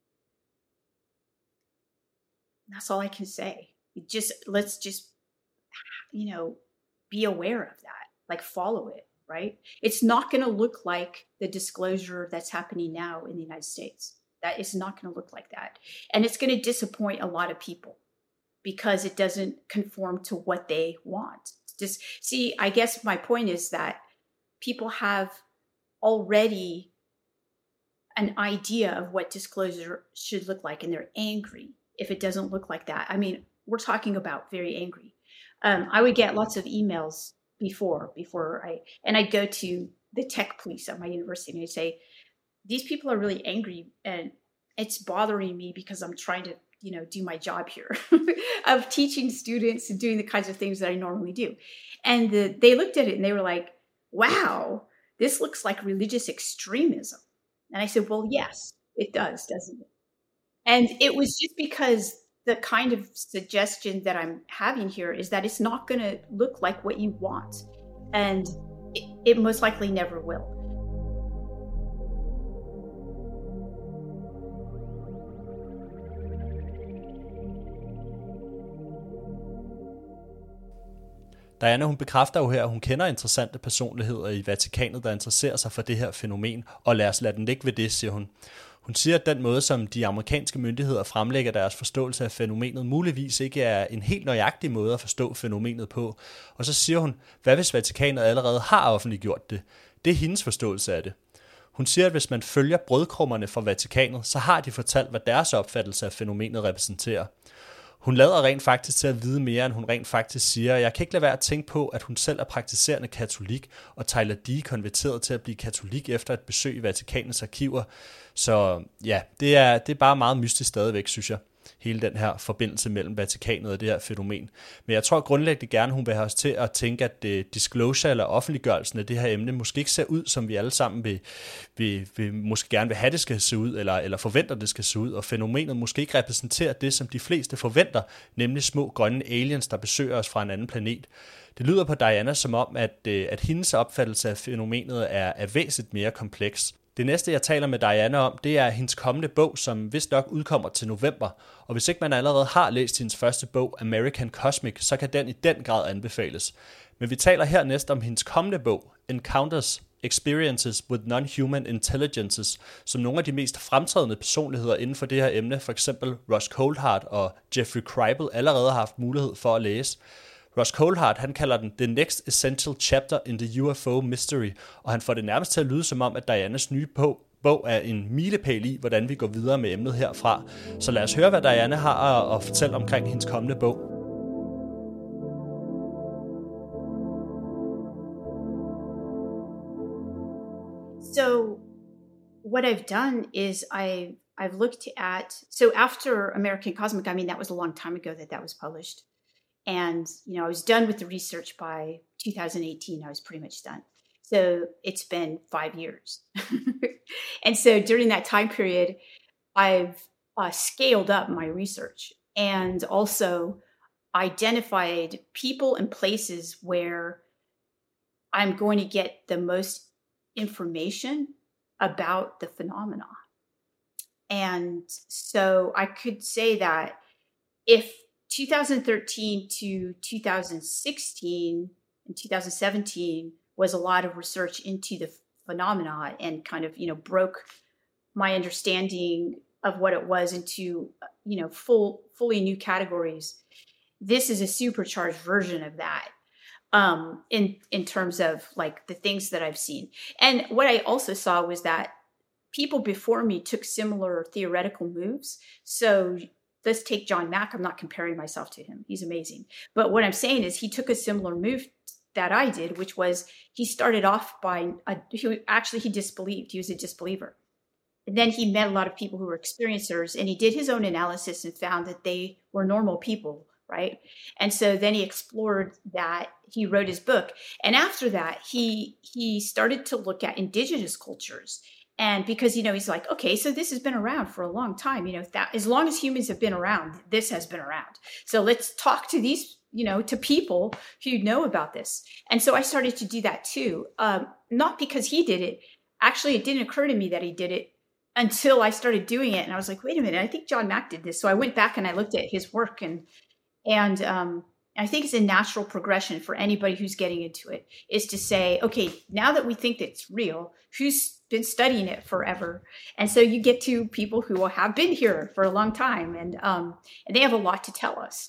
that's all I can say. It just let's just, you know, be aware of that, like follow it, right? It's not going to look like the disclosure that's happening now in the United States. That is not going to look like that. And it's going to disappoint a lot of people because it doesn't conform to what they want. Just see, I guess my point is that people have already an idea of what disclosure should look like, and they're angry if it doesn't look like that. I mean, we're talking about very angry. Um, I would get lots of emails before, before I, and I'd go to the tech police at my university and I'd say, these people are really angry and it's bothering me because I'm trying to, you know, do my job here of teaching students and doing the kinds of things that I normally do. And the, they looked at it and they were like, wow, this looks like religious extremism. And I said, well, yes, it does, doesn't it? And it was just because the kind of suggestion that I'm having here is that it's not going to look like what you want. And it, it most likely never will. Diana, hun bekræfter jo her, at hun kender interessante personligheder i Vatikanet, der interesserer sig for det her fænomen, og lad os lade den ligge ved det, siger hun. Hun siger, at den måde, som de amerikanske myndigheder fremlægger deres forståelse af fænomenet, muligvis ikke er en helt nøjagtig måde at forstå fænomenet på. Og så siger hun, hvad hvis Vatikanet allerede har offentliggjort det? Det er hendes forståelse af det. Hun siger, at hvis man følger brødkrummerne fra Vatikanet, så har de fortalt, hvad deres opfattelse af fænomenet repræsenterer. Hun lader rent faktisk til at vide mere, end hun rent faktisk siger. Jeg kan ikke lade være at tænke på, at hun selv er praktiserende katolik, og Tyler D. konverteret til at blive katolik efter et besøg i Vatikanets arkiver. Så ja, det er, det er bare meget mystisk stadigvæk, synes jeg. Hele den her forbindelse mellem Vatikanet og det her fænomen. Men jeg tror grundlæggende gerne, hun vil have os til at tænke, at uh, disclosure eller offentliggørelsen af det her emne måske ikke ser ud, som vi alle sammen vil, vil, vil måske gerne vil have, det skal se ud, eller, eller forventer, det skal se ud. Og fænomenet måske ikke repræsenterer det, som de fleste forventer, nemlig små grønne aliens, der besøger os fra en anden planet. Det lyder på Diana som om, at, uh, at hendes opfattelse af fænomenet er, er væsentligt mere kompleks. Det næste, jeg taler med Diana om, det er hendes kommende bog, som vist nok udkommer til november. Og hvis ikke man allerede har læst hendes første bog, American Cosmic, så kan den i den grad anbefales. Men vi taler hernæst om hendes kommende bog, Encounters, Experiences with Non-Human Intelligences, som nogle af de mest fremtrædende personligheder inden for det her emne, for eksempel Ross Coulthart og Jeffrey Kripal, allerede har haft mulighed for at læse. Ross Coulthart, han kalder den The Next Essential Chapter in the U F O Mystery, og han får det nærmest til at lyde som om, at Dianas nye bog, bog er en milepæl i, hvordan vi går videre med emnet herfra. Så lad os høre, hvad Diana har at, at fortælle omkring hendes kommende bog. So what I've done is I I've looked at, so after American Cosmic, I mean, that was a long time ago that that was published. And, you know, I was done with the research by two thousand eighteen. I was pretty much done. So it's been five years. And so during that time period, I've uh, scaled up my research and also identified people and places where I'm going to get the most information about the phenomena. And so I could say that if two thousand thirteen to two thousand sixteen and two thousand seventeen was a lot of research into the phenomena and kind of, you know, broke my understanding of what it was into, you know, full, fully new categories. This is a supercharged version of that, um, in, in terms of like the things that I've seen. And what I also saw was that people before me took similar theoretical moves. So let's take John Mack. I'm not comparing myself to him. He's amazing. But what I'm saying is he took a similar move that I did, which was he started off by, a, he, actually he disbelieved. He was a disbeliever. And then he met a lot of people who were experiencers, and he did his own analysis and found that they were normal people, right? And so then he explored that. He wrote his book. And after that, he he started to look at indigenous cultures. And because, you know, he's like, okay, so this has been around for a long time. You know, that as long as humans have been around, this has been around. So let's talk to these, you know, to people who know about this. And so I started to do that too. Um, not because he did it. Actually, it didn't occur to me that he did it until I started doing it. And I was like, wait a minute, I think John Mack did this. So I went back and I looked at his work, and, and, um, I think it's a natural progression for anybody who's getting into it, is to say, okay, now that we think that it's real, who's been studying it forever? And so you get to people who have been here for a long time, and um, and they have a lot to tell us.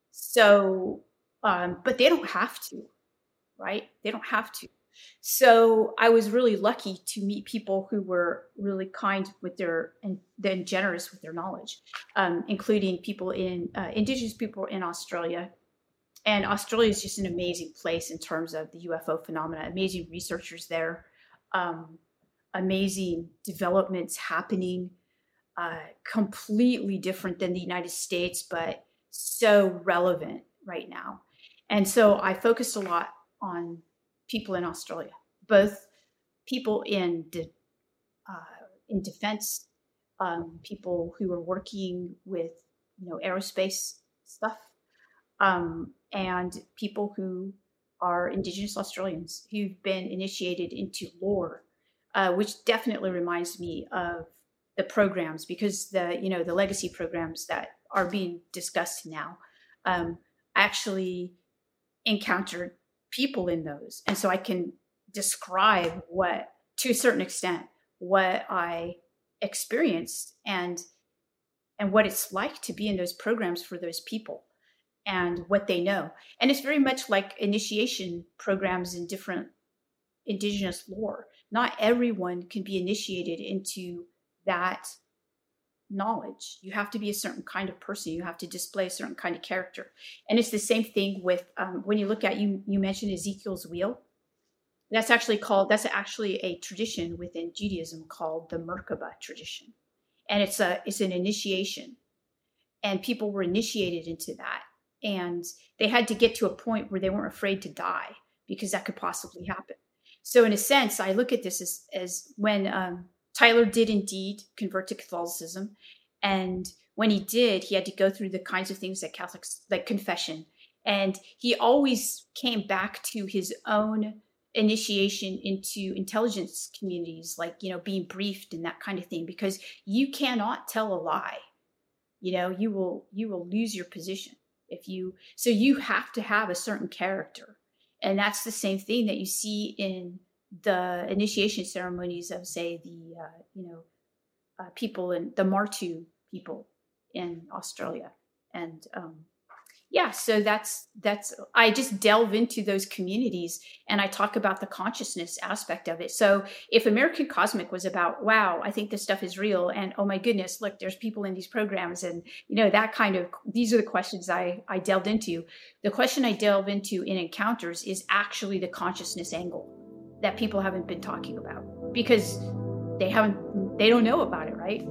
So, um, but they don't have to, right? They don't have to. So I was really lucky to meet people who were really kind with their, and then generous with their knowledge, um, including people in, uh, indigenous people in Australia. And Australia is just an amazing place in terms of the U F O phenomena, amazing researchers there, um, amazing developments happening, uh, completely different than the United States, but so relevant right now. And so I focused a lot on people in Australia, both people in de- uh, in defense, um, people who are working with, you know, aerospace stuff, um, and people who are Indigenous Australians who've been initiated into lore, uh, which definitely reminds me of the programs, because the, you know, the legacy programs that are being discussed now, um, actually encountered people in those. And so I can describe what, to a certain extent, what I experienced and and what it's like to be in those programs for those people and what they know. And it's very much like initiation programs in different indigenous lore. Not everyone can be initiated into that knowledge. You have to be a certain kind of person. You have to display a certain kind of character. And it's the same thing with um, when you look at, you, you mentioned Ezekiel's wheel. That's actually called, that's actually a tradition within Judaism called the Merkaba tradition. And it's a, it's an initiation, and people were initiated into that. And they had to get to a point where they weren't afraid to die, because that could possibly happen. So in a sense, I look at this as, as when um, Tyler did indeed convert to Catholicism. And when he did, he had to go through the kinds of things that Catholics, like confession. And he always came back to his own initiation into intelligence communities, like, you know, being briefed and that kind of thing, because you cannot tell a lie. You know, you will, you will lose your position if you, so you have to have a certain character. And that's the same thing that you see in the initiation ceremonies of, say, the, uh, you know, uh, people in the Martu people in Australia. And, um, yeah, so that's, that's, I just delve into those communities and I talk about the consciousness aspect of it. So if American Cosmic was about, wow, I think this stuff is real, and oh my goodness, look, there's people in these programs, and, you know, that kind of, these are the questions I, I delved into. The question I delve into in Encounters is actually the consciousness angle that people haven't been talking about, because they haven't, they don't know about it, right?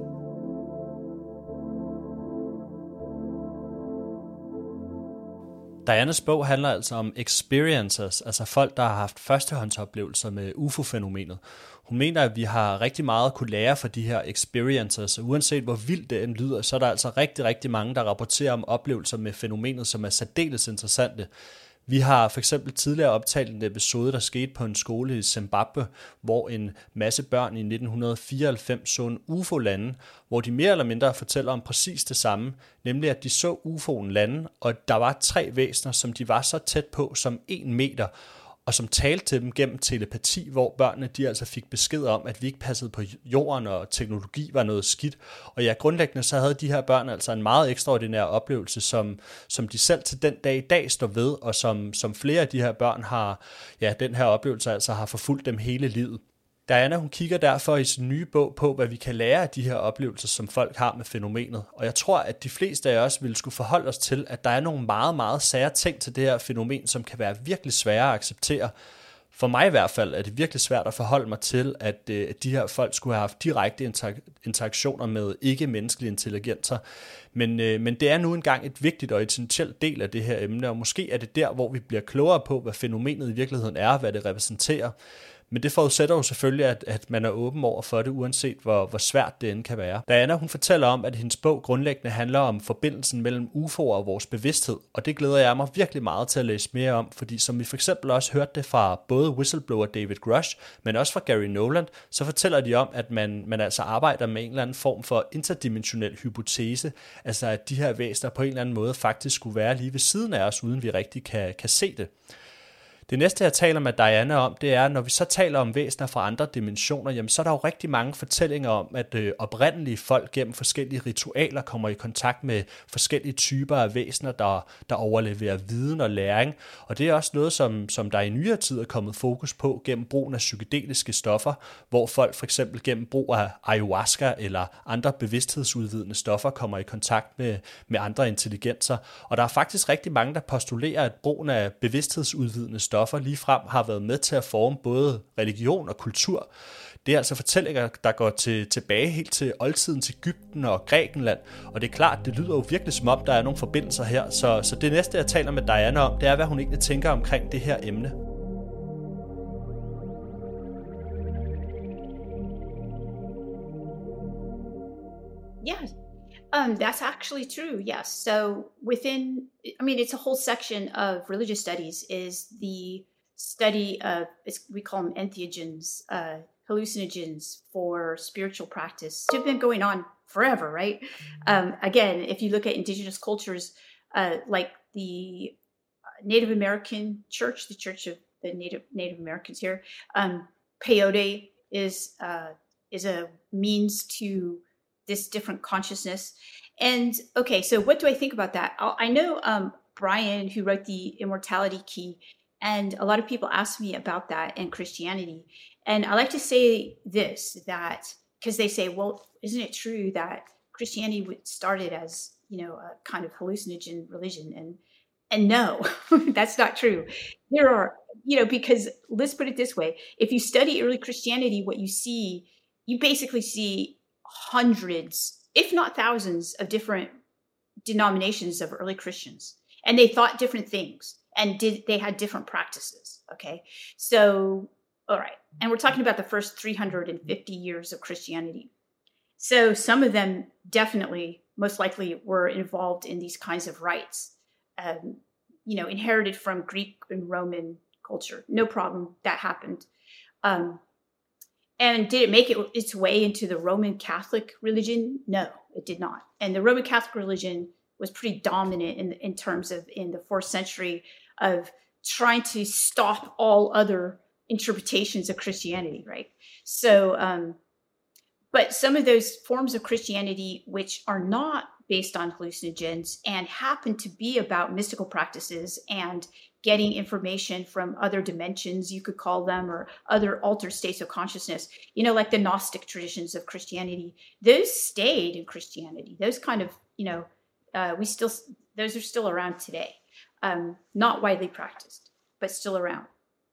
Dianas bog handler altså om experiencers, altså folk, der har haft førstehåndsoplevelser med U F O-fænomenet. Hun mener, at vi har rigtig meget at kunne lære fra de her experiencers, og uanset hvor vildt det end lyder, så er der altså rigtig, rigtig mange, der rapporterer om oplevelser med fænomenet, som er særdeles interessante. Vi har for eksempel tidligere optalt en episode, der skete på en skole i Zimbabwe, hvor en masse børn i nitten fireoghalvfems så en U F O lande, hvor de mere eller mindre fortæller om præcis det samme, nemlig at de så U F O'en lande, og der var tre væsener, som de var så tæt på som en meter, og som talte til dem gennem telepati, hvor børnene de altså fik besked om, at vi ikke passede på jorden, og teknologi var noget skidt. Og ja, grundlæggende så havde de her børn altså en meget ekstraordinær oplevelse, som, som de selv til den dag i dag står ved, og som, som flere af de her børn har, ja, den her oplevelse altså har forfulgt dem hele livet. Diana, hun kigger derfor i sin nye bog på, hvad vi kan lære af de her oplevelser, som folk har med fænomenet. Og jeg tror, at de fleste af os ville skulle forholde os til, at der er nogle meget, meget sære ting til det her fænomen, som kan være virkelig svære at acceptere. For mig i hvert fald er det virkelig svært at forholde mig til, at øh, de her folk skulle have haft direkte interak- interaktioner med ikke-menneskelige intelligenser. Men, øh, men det er nu engang et vigtigt og essentielt del af det her emne, og måske er det der, hvor vi bliver klogere på, hvad fænomenet i virkeligheden er, og hvad det repræsenterer. Men det forudsætter jo selvfølgelig, at, at man er åben over for det, uanset hvor, hvor svært det end kan være. Diana, hun fortæller om, at hendes bog grundlæggende handler om forbindelsen mellem U F O'er og vores bevidsthed, og det glæder jeg mig virkelig meget til at læse mere om, fordi som vi for eksempel også hørte det fra både whistleblower David Grush, men også fra Gary Nolan, så fortæller de om, at man, man altså arbejder med en eller anden form for interdimensionel hypotese, altså at de her væsener på en eller anden måde faktisk skulle være lige ved siden af os, uden vi rigtig kan, kan se det. Det næste, jeg taler med Diana om, det er, når vi så taler om væsener fra andre dimensioner, jamen, så er der jo rigtig mange fortællinger om, at øh, oprindelige folk gennem forskellige ritualer kommer i kontakt med forskellige typer af væsener, der, der overleverer viden og læring. Og det er også noget, som, som der i nyere tid er kommet fokus på gennem brugen af psykedeliske stoffer, hvor folk for eksempel gennem brug af ayahuasca eller andre bevidsthedsudvidende stoffer kommer i kontakt med, med andre intelligenser. Og der er faktisk rigtig mange, der postulerer, at brugen af bevidsthedsudvidende stoffer stoffer ligefrem har været med til at forme både religion og kultur. Det er altså fortællinger, der går til, tilbage helt til oldtidens Egypten og Grækenland, og det er klart, det lyder jo virkelig som om, der er nogle forbindelser her, så, så det næste, jeg taler med Diana om, det er, hvad hun egentlig tænker omkring det her emne. Yeah. Um, that's actually true, yes. So within, I mean, it's a whole section of religious studies is the study of, it's, we call them entheogens, uh, hallucinogens for spiritual practice. It's been going on forever, right? Um, again, if you look at indigenous cultures, uh, like the Native American church, the Church of the Native Native Americans here. Um, peyote is uh, is a means to this different consciousness. And okay, so what do I think about that? I know um, Brian, who wrote the Immortality Key, and a lot of people ask me about that and Christianity. And I like to say this, that because they say, well, isn't it true that Christianity started as, you know, a kind of hallucinogen religion? And and no, that's not true. There are, you know, because let's put it this way. If you study early Christianity, what you see, you basically see hundreds, if not thousands, of different denominations of early Christians. And they thought different things and did they had different practices. Okay. So, all right. And we're talking about the first three hundred fifty years of Christianity. So some of them definitely, most likely, were involved in these kinds of rites, um, you know, inherited from Greek and Roman culture. No problem. That happened. Um, and did it make it its way into the Roman Catholic religion? No, it did not. And the Roman Catholic religion was pretty dominant in, in terms of in the fourth century of trying to stop all other interpretations of Christianity, right? So, um, but some of those forms of Christianity, which are not based on hallucinogens and happen to be about mystical practices and getting information from other dimensions, you could call them, or other altered states of consciousness, you know, like the Gnostic traditions of Christianity, those stayed in Christianity. Those kind of, you know, uh, we still, those are still around today. Um, not widely practiced, but still around.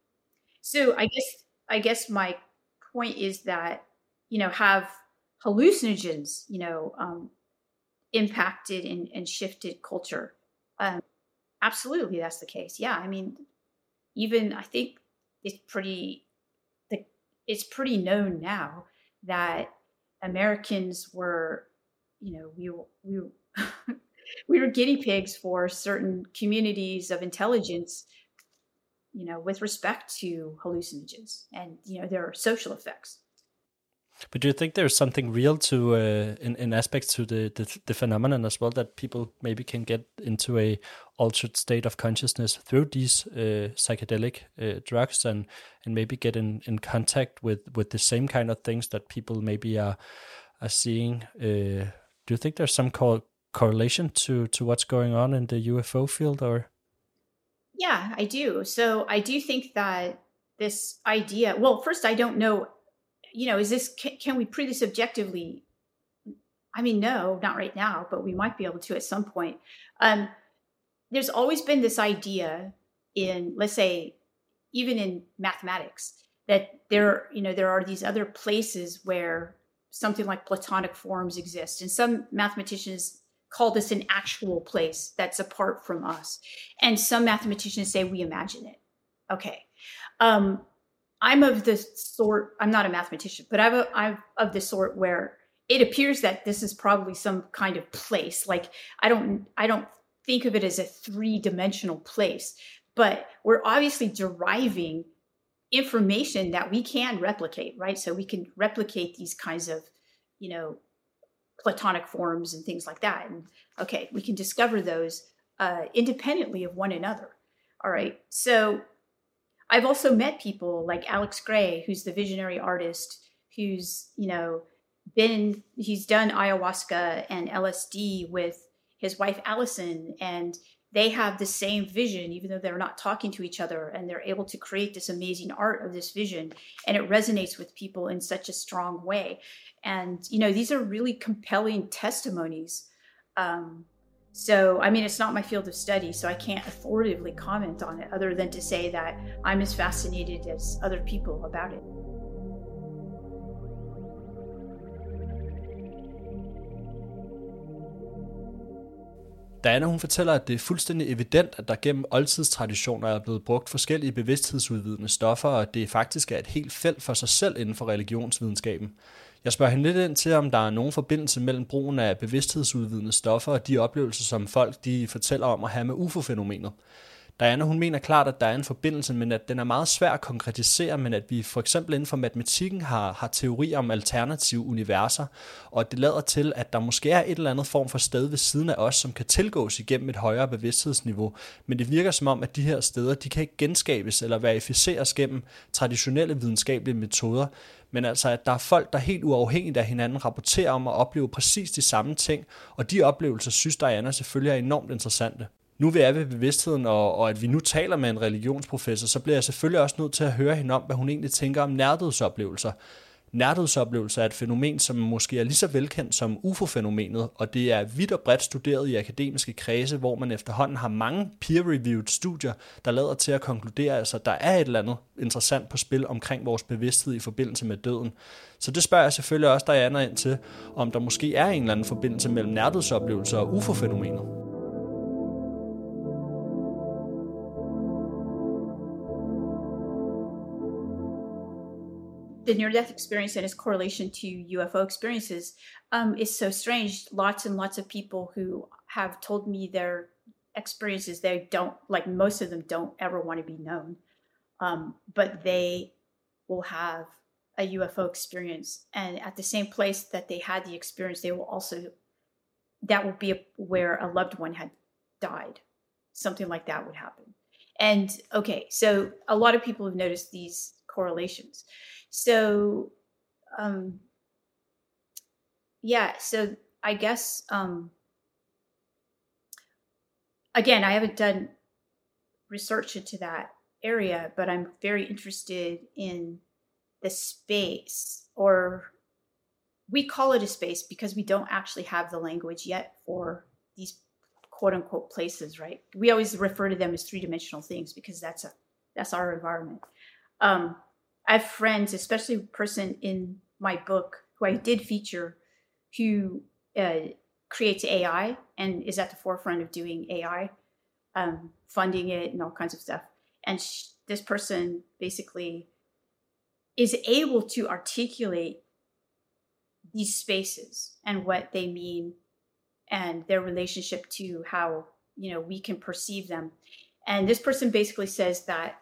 So I guess, I guess my point is that, you know, have hallucinogens, you know, um, impacted and, and shifted culture? Um, absolutely, that's the case. Yeah, I mean, even I think it's pretty, the, it's pretty known now that Americans were, you know, we we we were guinea pigs for certain communities of intelligence, you know, with respect to hallucinogens and, you know, their social effects. But do you think there's something real to, uh, in, in aspects to the, the the phenomenon as well, that people maybe can get into a altered state of consciousness through these uh, psychedelic uh, drugs and, and maybe get in, in contact with, with the same kind of things that people maybe are are seeing? Uh, do you think there's some co- correlation to, to what's going on in the U F O field, or? Yeah, I do. So I do think that this idea, well, first, I don't know, you know, is this, can, can we prove this objectively? I mean, no, not right now, but we might be able to at some point. Um, there's always been this idea in, let's say, even in mathematics, that there, you know, there are these other places where something like Platonic forms exist. And some mathematicians call this an actual place that's apart from us. And some mathematicians say we imagine it. Okay. Um, I'm of the sort, I'm not a mathematician, but I'm, a, I'm of the sort where it appears that this is probably some kind of place. Like, I don't, I don't think of it as a three-dimensional place, but we're obviously deriving information that we can replicate, right? So we can replicate these kinds of, you know, Platonic forms and things like that. And okay, we can discover those uh, independently of one another. All right. So I've also met people like Alex Gray, who's the visionary artist, who's, you know, been, he's done ayahuasca and L S D with his wife, Allison, and they have the same vision, even though they're not talking to each other, and they're able to create this amazing art of this vision. And it resonates with people in such a strong way. And, you know, these are really compelling testimonies. Um, So, I mean, it's not my field of study, so I can't authoritatively comment on it other than to say that I'm as fascinated as other people about it. Diana, hun fortæller, at det er fuldstændig evident, at der gennem oldtidstraditioner er blevet brugt forskellige bevidsthedsudvidende stoffer, og at det faktisk er et helt felt for sig selv inden for religionsvidenskaben. Jeg spørger hende lidt ind til, om der er nogen forbindelse mellem brugen af bevidsthedsudvidende stoffer og de oplevelser, som folk de fortæller om at have med U F O-fænomenet. Diana, hun mener klart, at der er en forbindelse, men at den er meget svær at konkretisere, men at vi for eksempel inden for matematikken har, har teorier om alternative universer, og at det lader til, at der måske er et eller andet form for sted ved siden af os, som kan tilgås igennem et højere bevidsthedsniveau, men det virker som om, at de her steder, de kan ikke genskabes eller verificeres gennem traditionelle videnskabelige metoder, men altså at der er folk, der helt uafhængigt af hinanden rapporterer om at opleve præcis de samme ting, og de oplevelser synes Diana selvfølgelig er enormt interessante. Nu vi er ved bevidstheden, og, og at vi nu taler med en religionsprofessor, så bliver jeg selvfølgelig også nødt til at høre hende om, hvad hun egentlig tænker om nærdødsoplevelser. Nærdødsoplevelser er et fænomen, som måske er lige så velkendt som U F O-fænomenet, og det er vidt og bredt studeret i akademiske kredse, hvor man efterhånden har mange peer-reviewed studier, der lader til at konkludere, altså, at der er et eller andet interessant på spil omkring vores bevidsthed i forbindelse med døden. Så det spørger jeg selvfølgelig også Diana ind til, om der måske er en eller anden forbindelse mellem nærdødsoplevelser og U F O-fænomenet. The near-death experience and its correlation to U F O experiences um, is so strange. Lots and lots of people who have told me their experiences, they don't, like most of them don't ever want to be known. Um, but they will have a U F O experience. And at the same place that they had the experience, they will also, that will be a, where a loved one had died. Something like that would happen. And okay, so a lot of people have noticed these correlations. So, um, yeah, so I guess, um, again, I haven't done research into that area, but I'm very interested in the space, or we call it a space because we don't actually have the language yet for these quote unquote places, right? We always refer to them as three-dimensional things because that's a, that's our environment. Um, I have friends, especially a person in my book who I did feature, who uh, creates A I and is at the forefront of doing A I, um, funding it and all kinds of stuff. And sh- this person basically is able to articulate these spaces and what they mean and their relationship to how, you know, we can perceive them. And this person basically says that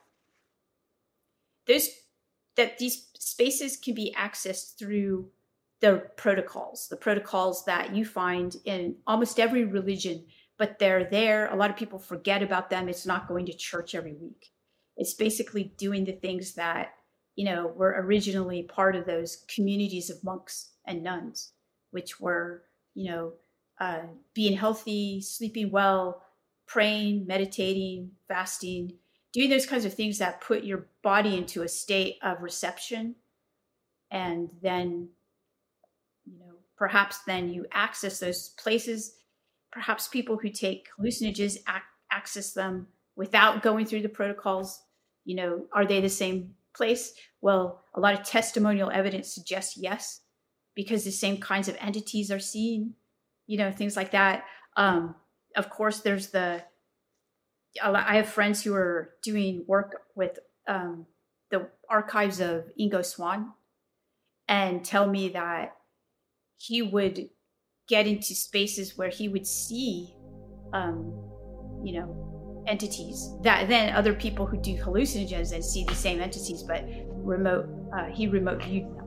there's that these spaces can be accessed through the protocols, the protocols that you find in almost every religion, but they're there. A lot of people forget about them. It's not going to church every week. It's basically doing the things that, you know, were originally part of those communities of monks and nuns, which were, you know, uh, being healthy, sleeping well, praying, meditating, fasting, doing those kinds of things that put your body into a state of reception. And then, you know, perhaps then you access those places. Perhaps people who take hallucinogens ac- access them without going through the protocols. You know, are they the same place? Well, a lot of testimonial evidence suggests yes, because the same kinds of entities are seen, you know, things like that. Um, of course, there's the, I have friends who are doing work with um, the archives of Ingo Swann and tell me that he would get into spaces where he would see, um, you know, entities that then other people who do hallucinogens and see the same entities, but remote, uh, he remote viewed them.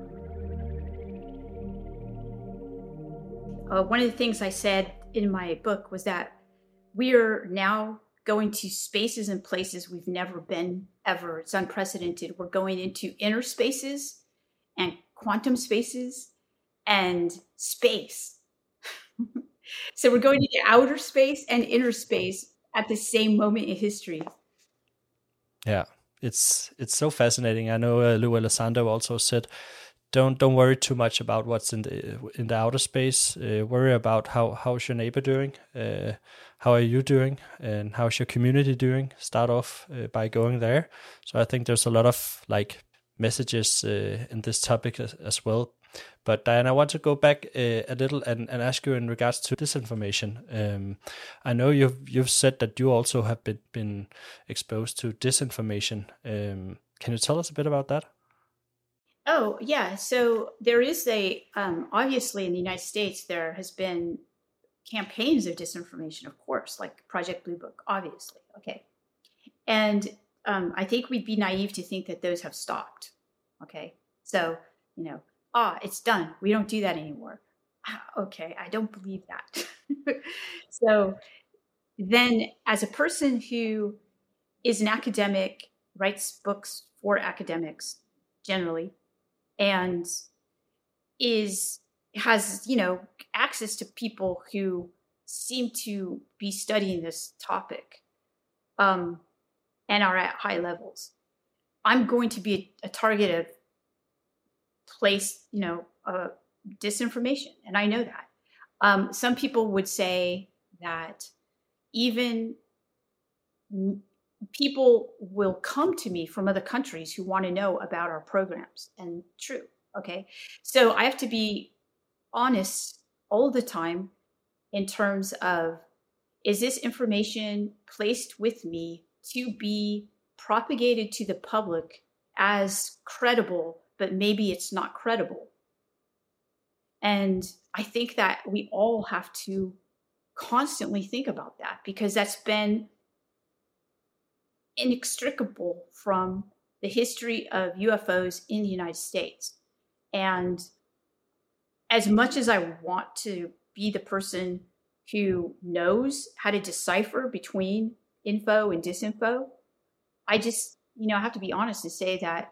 Uh, one of the things I said in my book was that we're now going to spaces and places we've never been ever. It's unprecedented. We're going into inner spaces and quantum spaces and space. So we're going into outer space and inner space at the same moment in history. Yeah, it's it's so fascinating. I know uh, Lou Elizondo also said, don't don't worry too much about what's in the in the outer space. Uh, worry about how how's your neighbor doing, uh, how are you doing, and how's your community doing. Start off uh, by going there. So I think there's a lot of like messages uh, in this topic as, as well. But Diana, I want to go back uh, a little and, and ask you in regards to disinformation. Um, I know you've you've said that you also have been been exposed to disinformation. Um, can you tell us a bit about that? Oh, yeah. So there is a, um, obviously in the United States, there has been campaigns of disinformation, of course, like Project Blue Book, obviously. Okay. And um, I think we'd be naive to think that those have stopped. Okay. So, you know, ah, it's done. We don't do that anymore. Okay. I don't believe that. So then as a person who is an academic, writes books for academics generally, and is, has, you know, access to people who seem to be studying this topic, um, and are at high levels, I'm going to be a, a target of place, you know, uh, disinformation. And I know that. Um, some people would say that even m- people will come to me from other countries who want to know about our programs. And true. Okay. So I have to be honest all the time in terms of, is this information placed with me to be propagated to the public as credible, but maybe it's not credible? And I think that we all have to constantly think about that, because that's been inextricable from the history of U F Os in the United States. And as much as I want to be the person who knows how to decipher between info and disinfo, I just, you know, I have to be honest and say that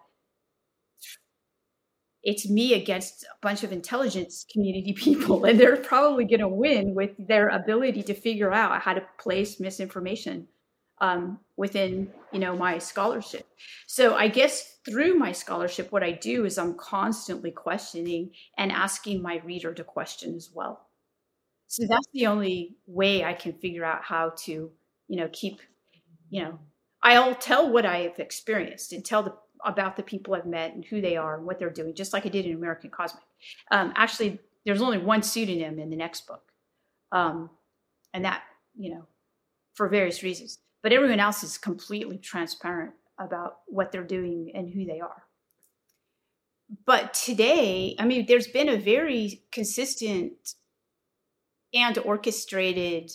it's me against a bunch of intelligence community people, and they're probably going to win with their ability to figure out how to place misinformation um, within, you know, my scholarship. So I guess through my scholarship, what I do is I'm constantly questioning and asking my reader to question as well. So that's the only way I can figure out how to, you know, keep, you know, I'll tell what I've experienced and tell the, about the people I've met and who they are and what they're doing, just like I did in American Cosmic. Um, actually, there's only one pseudonym in the next book. Um, and that, you know, for various reasons. But everyone else is completely transparent about what they're doing and who they are. But today, I mean, there's been a very consistent and orchestrated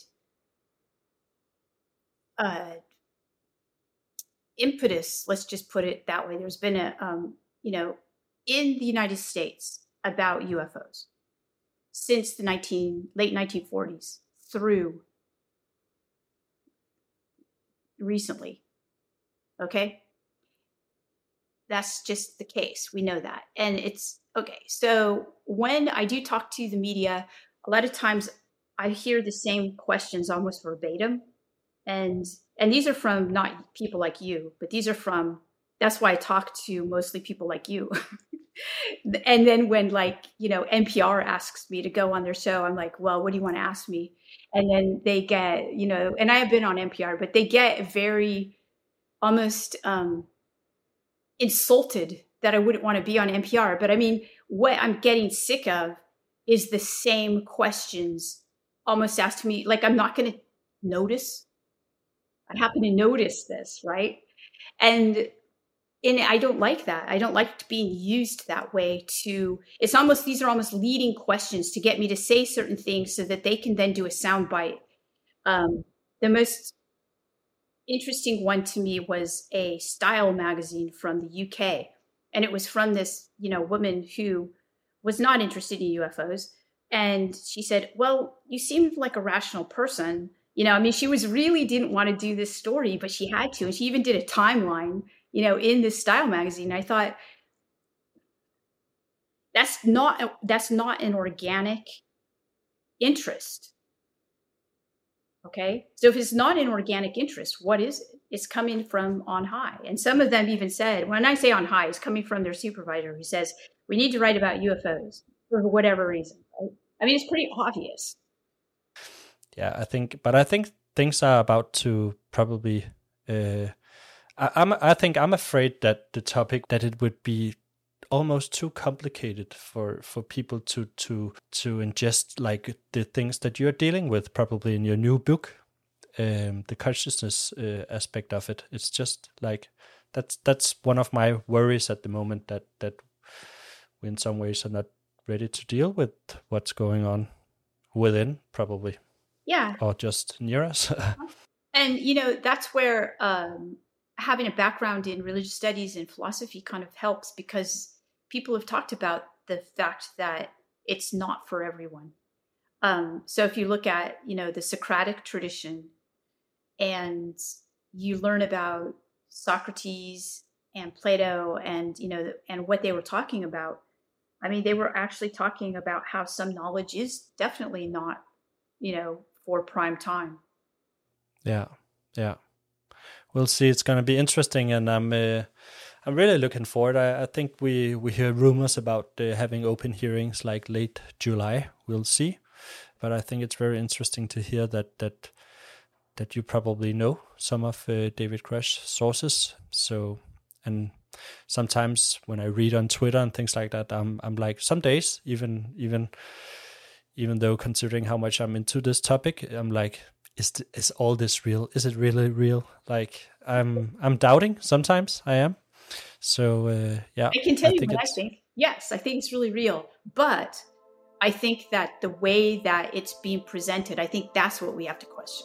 uh, impetus, let's just put it that way. There's been a, um, you know, in the United States about U F Os since the nineteen late nineteen forties through recently. Okay. That's just the case. We know that. And it's okay. So when I do talk to the media, a lot of times I hear the same questions almost verbatim. And and these are from not people like you, but these are from, that's why I talk to mostly people like you. And then when, like, you know, N P R asks me to go on their show, I'm like, well, what do you want to ask me? And then they get, you know, and I have been on N P R, but they get very almost um, insulted that I wouldn't want to be on N P R. But I mean, what I'm getting sick of is the same questions almost asked me. Like, I'm not going to notice. I happen to notice this, right? And and I don't like that. I don't like being used that way to, it's almost, these are almost leading questions to get me to say certain things so that they can then do a soundbite. Um, the most interesting one to me was a Style magazine from the U K. And it was from this, you know, woman who was not interested in U F Os. And she said, well, you seem like a rational person. You know, I mean, she was really didn't want to do this story, but she had to. And she even did a timeline, you know, in this Style magazine. I thought, that's not, that's not an organic interest. Okay. So if it's not an organic interest, what is it? It's coming from on high. And some of them even said, when I say on high, it's coming from their supervisor who says, we need to write about U F Os for whatever reason. Right? I mean, it's pretty obvious. Yeah, I think, but I think things are about to probably, uh, I, I'm, I think I'm afraid that the topic, that it would be almost too complicated for, for people to, to, to ingest, like the things that you're dealing with probably in your new book, um, the consciousness uh, aspect of it. It's just like, that's, that's one of my worries at the moment, that, that we in some ways are not ready to deal with what's going on within, probably. Yeah. Or just near us. And, you know, that's where um, having a background in religious studies and philosophy kind of helps, because people have talked about the fact that it's not for everyone. Um, so if you look at, you know, the Socratic tradition, and you learn about Socrates and Plato and, you know, and what they were talking about, I mean, they were actually talking about how some knowledge is definitely not, you know, for prime time. Yeah, yeah. We'll see. It's going to be interesting, and I'm uh, I'm really looking forward. I, I think we, we hear rumors about uh, having open hearings like late July. We'll see. But I think it's very interesting to hear that that that you probably know some of uh, David Grush's sources. So, and sometimes when I read on Twitter and things like that, I'm I'm like, some days, even even even though considering how much I'm into this topic, I'm like, is th- is all this real? Is it really real? Like, I'm I'm doubting sometimes. I am. So uh, yeah, I can tell I you think what I think. Yes, I think it's really real, but I think that the way that it's being presented, I think that's what we have to question.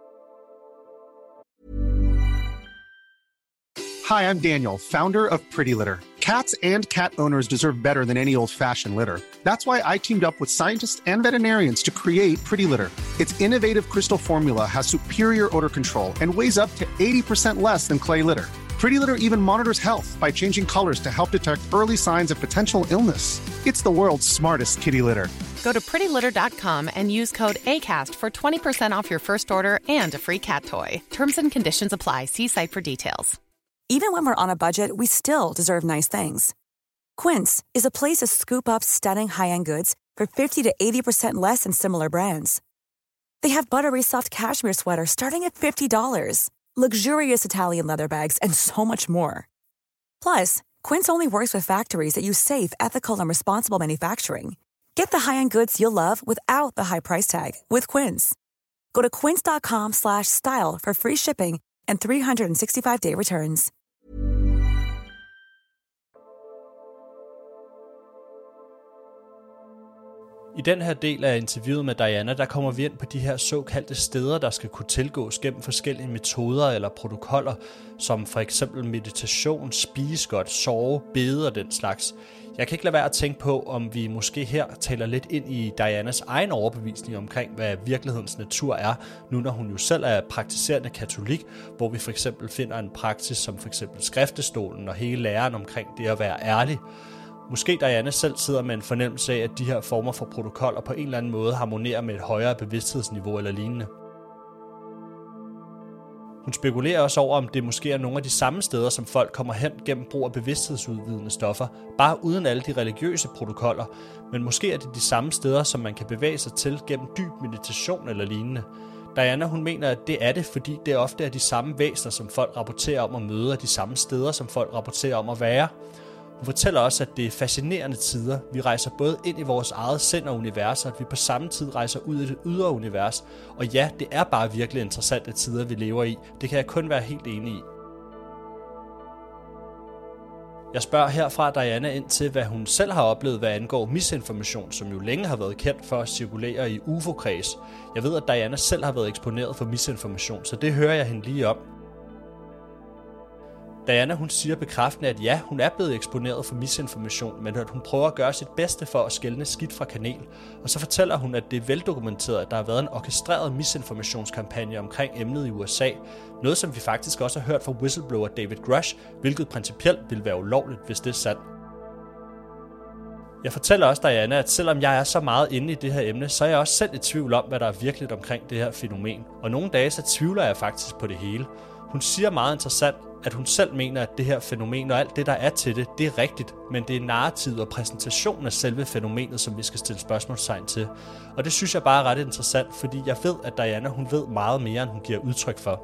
Hi, I'm Daniel, founder of Pretty Litter. Cats and cat owners deserve better than any old-fashioned litter. That's why I teamed up with scientists and veterinarians to create Pretty Litter. Its innovative crystal formula has superior odor control and weighs up to eighty percent less than clay litter. Pretty Litter even monitors health by changing colors to help detect early signs of potential illness. It's the world's smartest kitty litter. Go to pretty litter dot com and use code ACAST for twenty percent off your first order and a free cat toy. Terms and conditions apply. See site for details. Even when we're on a budget, we still deserve nice things. Quince is a place to scoop up stunning high-end goods for fifty to eighty percent less than similar brands. They have buttery soft cashmere sweaters starting at fifty dollars, luxurious Italian leather bags, and so much more. Plus, Quince only works with factories that use safe, ethical, and responsible manufacturing. Get the high-end goods you'll love without the high price tag with Quince. Go to quince dot com slash style for free shipping and three sixty-five day returns. I den her del af interviewet med Diana, der kommer vi ind på de her såkaldte steder, der skal kunne tilgås gennem forskellige metoder eller protokoller, som for eksempel meditation, spise godt, sove, bede og den slags. Jeg kan ikke lade være at tænke på, om vi måske her taler lidt ind i Dianas egen overbevisning omkring, hvad virkelighedens natur er, nu når hun jo selv er praktiserende katolik, hvor vi for eksempel finder en praksis som for eksempel skriftestolen og hele læren omkring det at være ærlig. Måske Diana selv sidder med en fornemmelse af, at de her former for protokoller på en eller anden måde harmonerer med et højere bevidsthedsniveau eller lignende. Hun spekulerer også over, om det måske er nogle af de samme steder, som folk kommer hen gennem brug af bevidsthedsudvidende stoffer, bare uden alle de religiøse protokoller, men måske er det de samme steder, som man kan bevæge sig til gennem dyb meditation eller lignende. Diana, hun mener, at det er det, fordi det ofte er de samme væsener, som folk rapporterer om at møde, og de samme steder, som folk rapporterer om at være. Hun fortæller også, at det er fascinerende tider. Vi rejser både ind i vores eget sind og univers, og at vi på samme tid rejser ud i det ydre univers. Og ja, det er bare virkelig interessante tider, vi lever i. Det kan jeg kun være helt enig i. Jeg spørger herfra Diana ind til, hvad hun selv har oplevet, hvad angår misinformation, som jo længe har været kendt for at cirkulere i U F O-kreds. Jeg ved, at Diana selv har været eksponeret for misinformation, så det hører jeg hende lige om. Diana, hun siger bekræftende, at ja, hun er blevet eksponeret for misinformation, men at hun prøver at gøre sit bedste for at skelne skidt fra kanel. Og så fortæller hun, at det er veldokumenteret, at der har været en orkestreret misinformationskampagne omkring emnet i U S A. Noget, som vi faktisk også har hørt fra whistleblower David Grush, hvilket principielt vil være ulovligt, hvis det er sandt. Jeg fortæller også Diana, at selvom jeg er så meget inde i det her emne, så er jeg også selv i tvivl om, hvad der er virkeligt omkring det her fænomen. Og nogle dage så tvivler jeg faktisk på det hele. Hun siger meget interessant, at hun selv mener, at det her fænomen og alt det, der er til det, det er rigtigt, men det er narrativet og præsentationen af selve fænomenet, som vi skal stille spørgsmålstegn til. Og det synes jeg bare er ret interessant, fordi jeg ved, at Diana, hun ved meget mere, end hun giver udtryk for.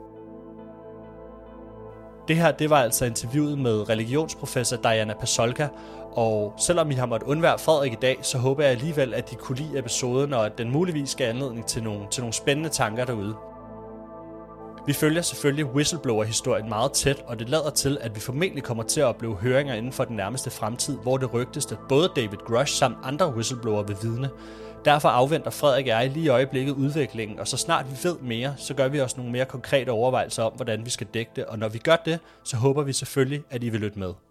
Det her, det var altså interviewet med religionsprofessor Diana Pasulka, og selvom I har måttet undvære Frederik i dag, så håber jeg alligevel, at I kunne lide episoden, og at den muligvis skal anledning til nogle, til nogle spændende tanker derude. Vi følger selvfølgelig whistleblower-historien meget tæt, og det lader til, at vi formentlig kommer til at opleve høringer inden for den nærmeste fremtid, hvor det rygtes, at både David Grush samt andre whistleblower vil vidne. Derfor afventer Frederik og jeg lige i øjeblikket udviklingen, og så snart vi ved mere, så gør vi også nogle mere konkrete overvejelser om, hvordan vi skal dække det, og når vi gør det, så håber vi selvfølgelig, at I vil lytte med.